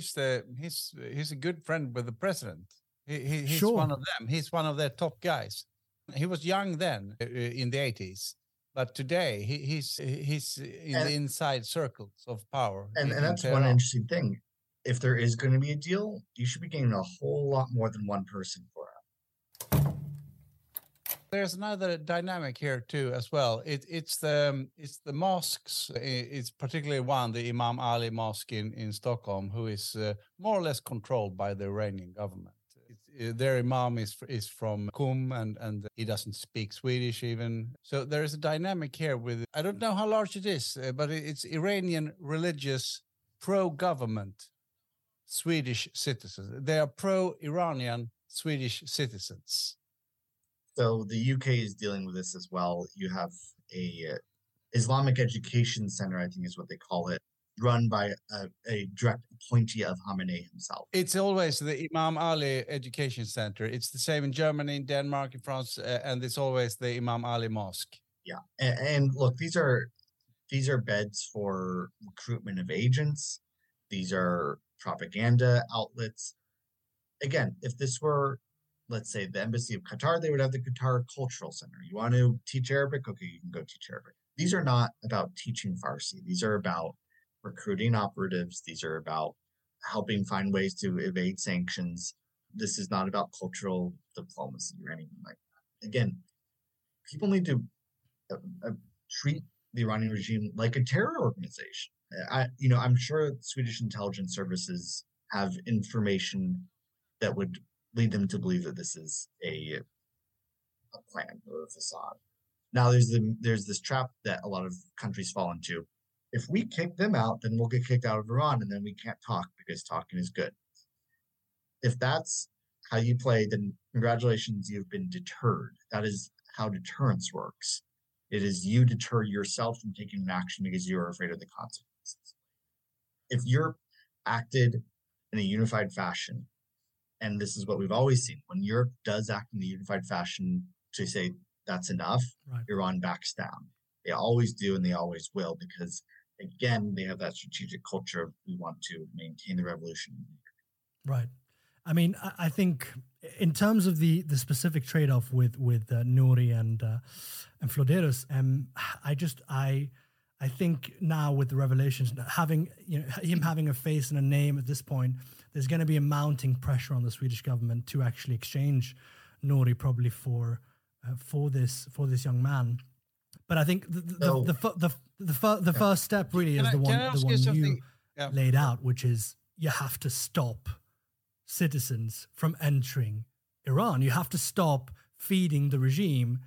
he's a good friend with the president. He's sure. One of them. He's one of their top guys. He was young then in the 80s. But today, he's in the inside circles of power. And that's one interesting thing. If there is going to be a deal, you should be getting a whole lot more than one person for it. There's another dynamic here too, as well. It's the mosques. It's particularly one, the Imam Ali Mosque in Stockholm, who is more or less controlled by the Iranian government. Their imam is from Qom, and he doesn't speak Swedish even. So there is a dynamic here with, I don't know how large it is, but it's Iranian religious pro-government Swedish citizens. They are pro-Iranian Swedish citizens. So the UK is dealing with this as well. You have a Islamic Education Center, I think is what they call it, run by a direct appointee of Khamenei himself. It's always the Imam Ali Education Center. It's the same in Germany, in Denmark, in France, and it's always the Imam Ali Mosque. Yeah, and look, these are beds for recruitment of agents. These are propaganda outlets. Again, if this were, let's say, the Embassy of Qatar, they would have the Qatar Cultural Center. You want to teach Arabic? Okay, you can go teach Arabic. These are not about teaching Farsi. These are about recruiting operatives. These are about helping find ways to evade sanctions. This is not about cultural diplomacy or anything like that. Again, people need to treat the Iranian regime like a terror organization. I'm sure Swedish intelligence services have information that would lead them to believe that this is a plan or a facade. Now, there's this trap that a lot of countries fall into. If we kick them out, then we'll get kicked out of Iran, and then we can't talk because talking is good. If that's how you play, then congratulations, you've been deterred. That is how deterrence works. It is you deter yourself from taking an action because you're afraid of the consequences. If you're acted in a unified fashion. And this is what we've always seen. When Europe does act in a unified fashion to say that's enough, Right. Iran backs down. They always do, and they always will, because again, they have that strategic culture of we want to maintain the revolution. Right. I mean, I think in terms of the specific trade-off with Nouri and Florderos, I think now with the revelations, having him having a face and a name at this point, there's going to be a mounting pressure on the Swedish government to actually exchange Nouri probably for this young man. But I think the first step really is the one you laid out, which is you have to stop citizens from entering Iran. You have to stop feeding the regime,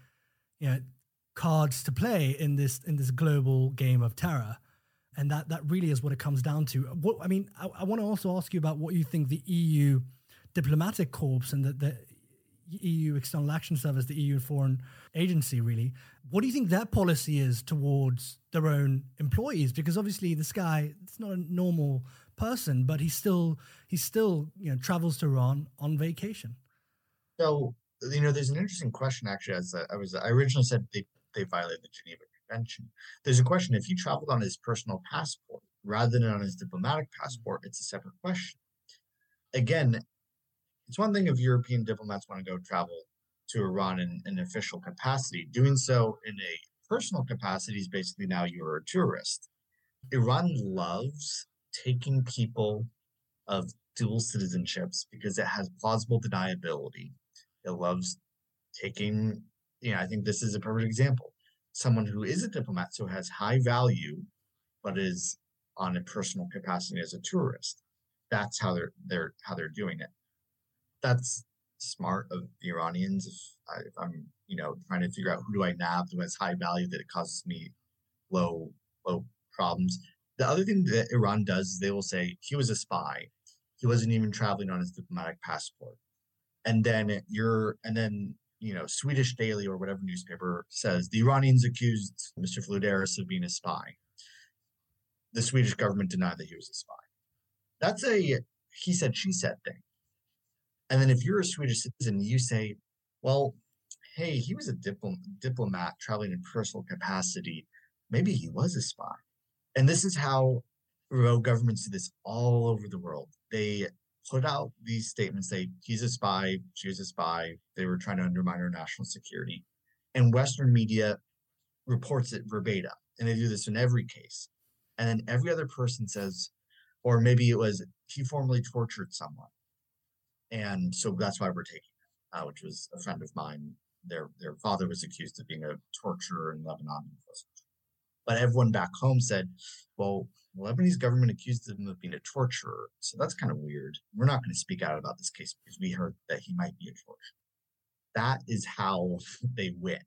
cards to play in this global game of terror. And that really is what it comes down to. I want to also ask you about what you think the EU diplomatic corps and the EU External Action Service, the EU Foreign Agency, really, what do you think their policy is towards their own employees? Because obviously this guy, it's not a normal person, but he still travels to Iran on vacation. So, there's an interesting question, actually. As I originally said they violated the Geneva Convention. There's a question, if he traveled on his personal passport rather than on his diplomatic passport, it's a separate question. Again, it's one thing if European diplomats want to go travel to Iran in an official capacity. Doing so in a personal capacity is basically now you're a tourist. Iran loves taking people of dual citizenships because it has plausible deniability. It loves taking, I think this is a perfect example. Someone who is a diplomat, so has high value, but is on a personal capacity as a tourist. That's how they're doing it. That's smart of the Iranians. If I'm, trying to figure out who do I nab who has high value that it causes me low problems. The other thing that Iran does is they will say he was a spy. He wasn't even traveling on his diplomatic passport. And then Swedish Daily or whatever newspaper says the Iranians accused Mr. Florderos of being a spy. The Swedish government denied that he was a spy. That's a he said, she said thing. And then if you're a Swedish citizen, you say, well, hey, he was a diplomat traveling in personal capacity. Maybe he was a spy. And this is how remote governments do this all over the world. They put out these statements, say, he's a spy, she was a spy. They were trying to undermine our national security. And Western media reports it verbatim. And they do this in every case. And then every other person says, or maybe it was, he formerly tortured someone. And so that's why we're taking it, which was a friend of mine. Their father was accused of being a torturer in Lebanon. But everyone back home said, well, the Lebanese government accused him of being a torturer. So that's kind of weird. We're not going to speak out about this case because we heard that he might be a torturer. That is how they win.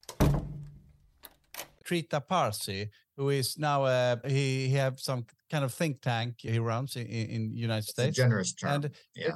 Trita Parsi, who is now he have some kind of think tank he runs in United States. It's a generous term. And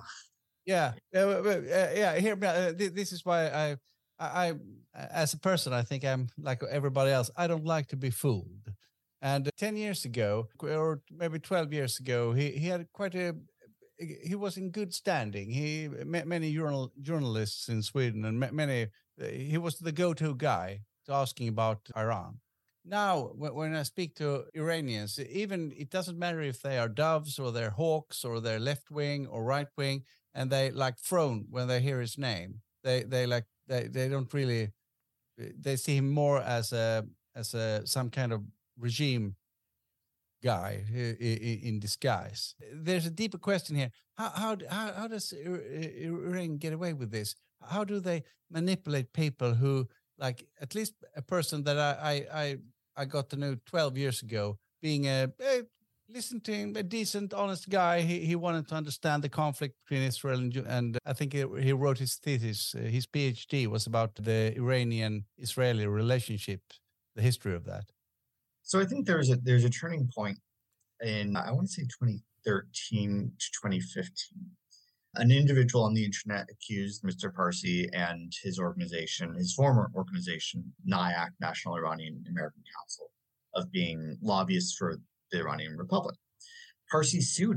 this is why I as a person, I think I'm like everybody else. I don't like to be fooled. And 10 years ago, or maybe 12 years ago, he had he was in good standing. He met many journalists in Sweden, and he was the go-to guy to asking about Iran. Now, when I speak to Iranians, even it doesn't matter if they are doves or they're hawks or they're left wing or right wing, and they like frown when they hear his name. They don't really. They see him more as some kind of regime guy in disguise. There's a deeper question here. How does Iran get away with this? How do they manipulate people who, like, at least a person that I got to know 12 years ago, being a decent, honest guy. He wanted to understand the conflict between Israel and I think he wrote his thesis. His PhD was about the Iranian-Israeli relationship, the history of that. So I think there's a turning point in, I want to say 2013 to 2015. An individual on the internet accused Mr. Parsi and his organization, his former organization, NIAC, National Iranian American Council, of being lobbyists for the Iranian Republic. Parsi sued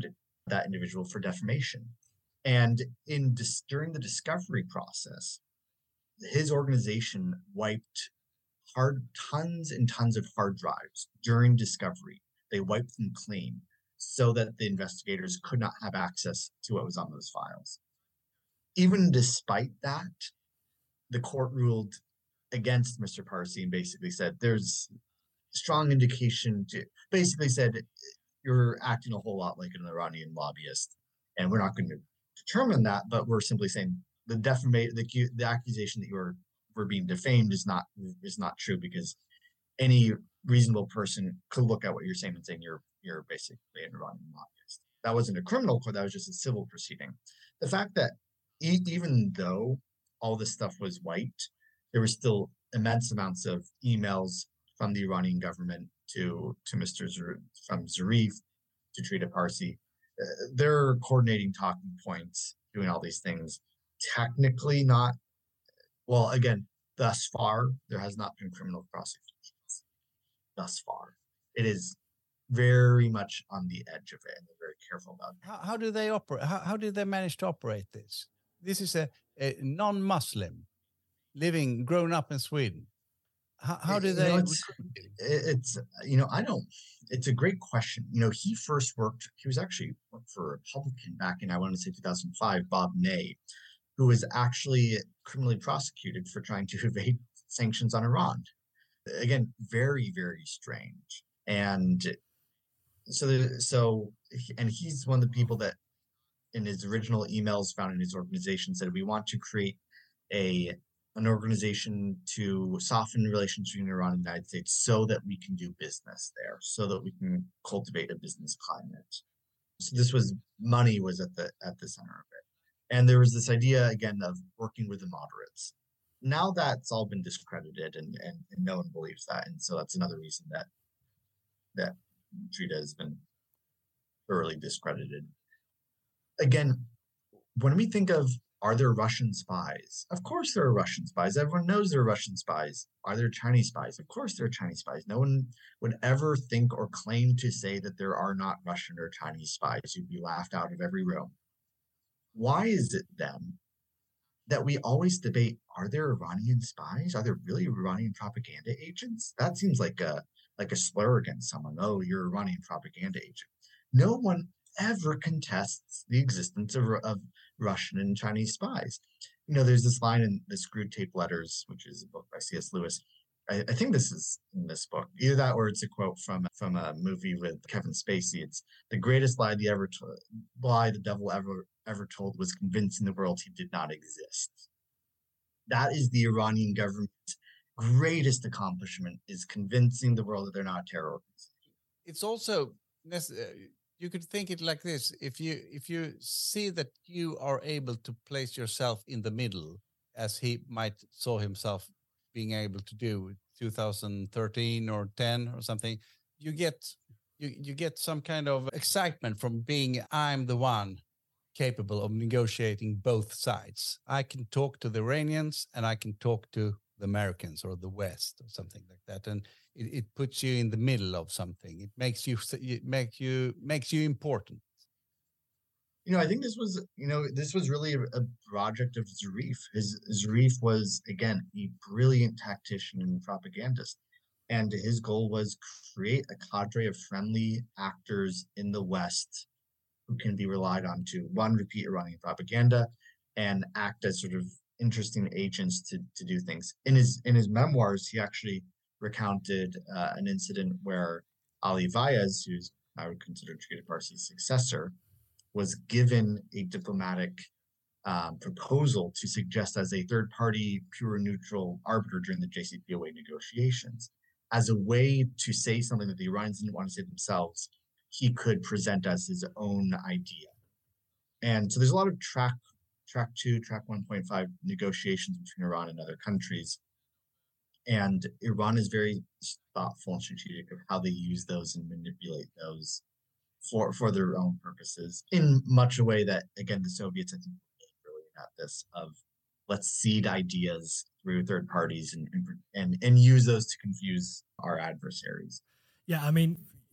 that individual for defamation. And during the discovery process, his organization wiped tons and tons of hard drives during discovery. They wiped them clean so that the investigators could not have access to what was on those files. Even despite that, the court ruled against Mr. Parsi and basically said there's strong indication to basically said you're acting a whole lot like an Iranian lobbyist, and we're not going to determine that, but we're simply saying the accusation that we're being defamed is not true, because any reasonable person could look at what you're saying and saying you're basically an Iranian lobbyist. That wasn't a criminal court, that was just a civil proceeding. The fact that even though all this stuff was wiped, there were still immense amounts of emails from the Iranian government to Mr. from Zarif to Trita Parsi. They're coordinating talking points, doing all these things. Technically not, well, again, thus far, there has not been criminal prosecutions. Thus far. It is very much on the edge of it, and they're very careful about it. How do they operate? How did they manage to operate this? This is a non-Muslim grown up in Sweden. How do they? It's a great question. He was actually worked for a Republican back in, I want to say 2005, Bob Ney, who was actually criminally prosecuted for trying to evade sanctions on Iran. Again, very, very strange. And and he's one of the people that in his original emails found in his organization said, we want to create an organization to soften relations between Iran and the United States so that we can do business there, so that we can cultivate a business climate. So money was at the center of it. And there was this idea, again, of working with the moderates. Now that's all been discredited and no one believes that. And so that's another reason that Trita has been thoroughly discredited. Again, when we think of, are there Russian spies? Of course there are Russian spies. Everyone knows there are Russian spies. Are there Chinese spies? Of course there are Chinese spies. No one would ever think or claim to say that there are not Russian or Chinese spies. You'd be laughed out of every room. Why is it then that we always debate, are there Iranian spies? Are there really Iranian propaganda agents? That seems like a slur against someone. Oh, you're an Iranian propaganda agent. No one ever contests the existence of Russian and Chinese spies. There's this line in the Screwtape Letters, which is a book by C.S. Lewis. I think this is in this book. Either that or it's a quote from a movie with Kevin Spacey. It's the greatest lie the devil ever told was convincing the world he did not exist. That is the Iranian government's greatest accomplishment, is convincing the world that they're not a terror organization. It's also you could think it like this: if you see that you are able to place yourself in the middle, as he might saw himself being able to do 2013 or 10 or something, you get some kind of excitement from being, I'm the one capable of negotiating both sides. I can talk to the Iranians and I can talk to the Americans or the West or something like that, and it puts you in the middle of something. It makes you important. I think this was really a project of Zarif. Zarif was, again, a brilliant tactician and propagandist, and his goal was create a cadre of friendly actors in the West who can be relied on to, one, repeat Iranian propaganda and act as sort of interesting agents to do things. In his memoirs, he actually recounted an incident where Ali Vaez, who's I would consider Trita Parsi's successor, was given a diplomatic proposal to suggest as a third-party, pure neutral arbiter during the JCPOA negotiations, as a way to say something that the Iranians didn't want to say themselves. He could present as his own idea. And so there's a lot of track 2, track 1.5 negotiations between Iran and other countries. And Iran is very thoughtful and strategic of how they use those and manipulate those for their own purposes, in much a way that, again, the Soviets, I think, were really brilliant at this, of let's seed ideas through third parties and use those to confuse our adversaries. Yeah, I mean,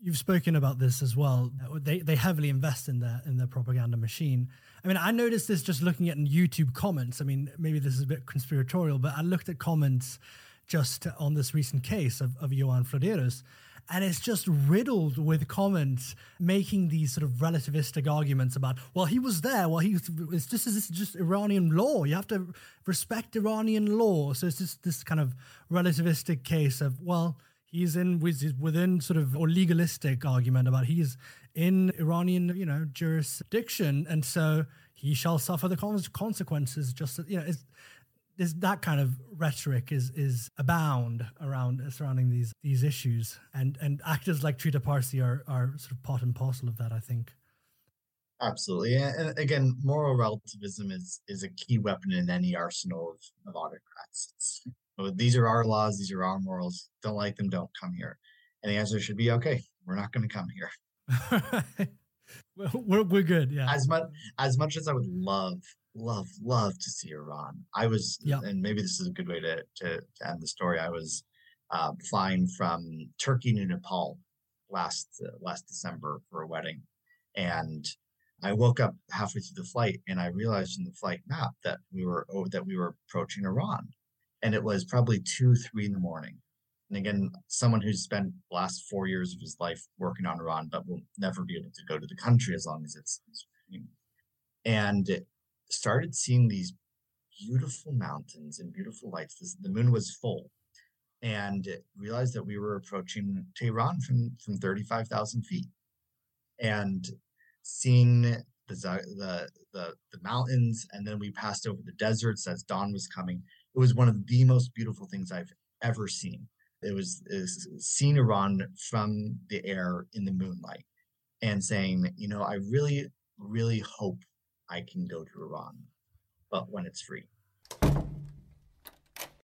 You've spoken about this as well. They heavily invest in their propaganda machine. I mean, I noticed this just looking at YouTube comments. I mean, maybe this is a bit conspiratorial, but I looked at comments just on this recent case of Johan Florderos, and it's just riddled with comments making these sort of relativistic arguments about, well, he was there. Well, this is just Iranian law. You have to respect Iranian law. So it's just this kind of relativistic case of, well, he's within sort of, or legalistic argument about he's in Iranian, jurisdiction, and so he shall suffer the consequences. Just that kind of rhetoric is abound surrounding these issues, and actors like Trita Parsi are sort of part and parcel of that, I think. Absolutely, and again, moral relativism is a key weapon in any arsenal of autocrats. These are our laws, these are our morals. Don't like them, don't come here. And the answer should be, okay, we're not going to come here. we're good, yeah. As much as I would love to see Iran, I was, and maybe this is a good way to end the story. I was flying from Turkey to Nepal last December for a wedding, and I woke up halfway through the flight, and I realized in the flight map that we were approaching Iran. And it was probably 2-3 in the morning. And again, someone who's spent the last 4 years of his life working on Iran, but will never be able to go to the country as long as it's and started seeing these beautiful mountains and beautiful lights. The moon was full, and realized that we were approaching Tehran from 35,000 feet, and seeing the mountains, and then we passed over the deserts as dawn was coming. It was one of the most beautiful things I've ever seen. It was seeing Iran from the air in the moonlight and saying, I really, really hope I can go to Iran, but when it's free.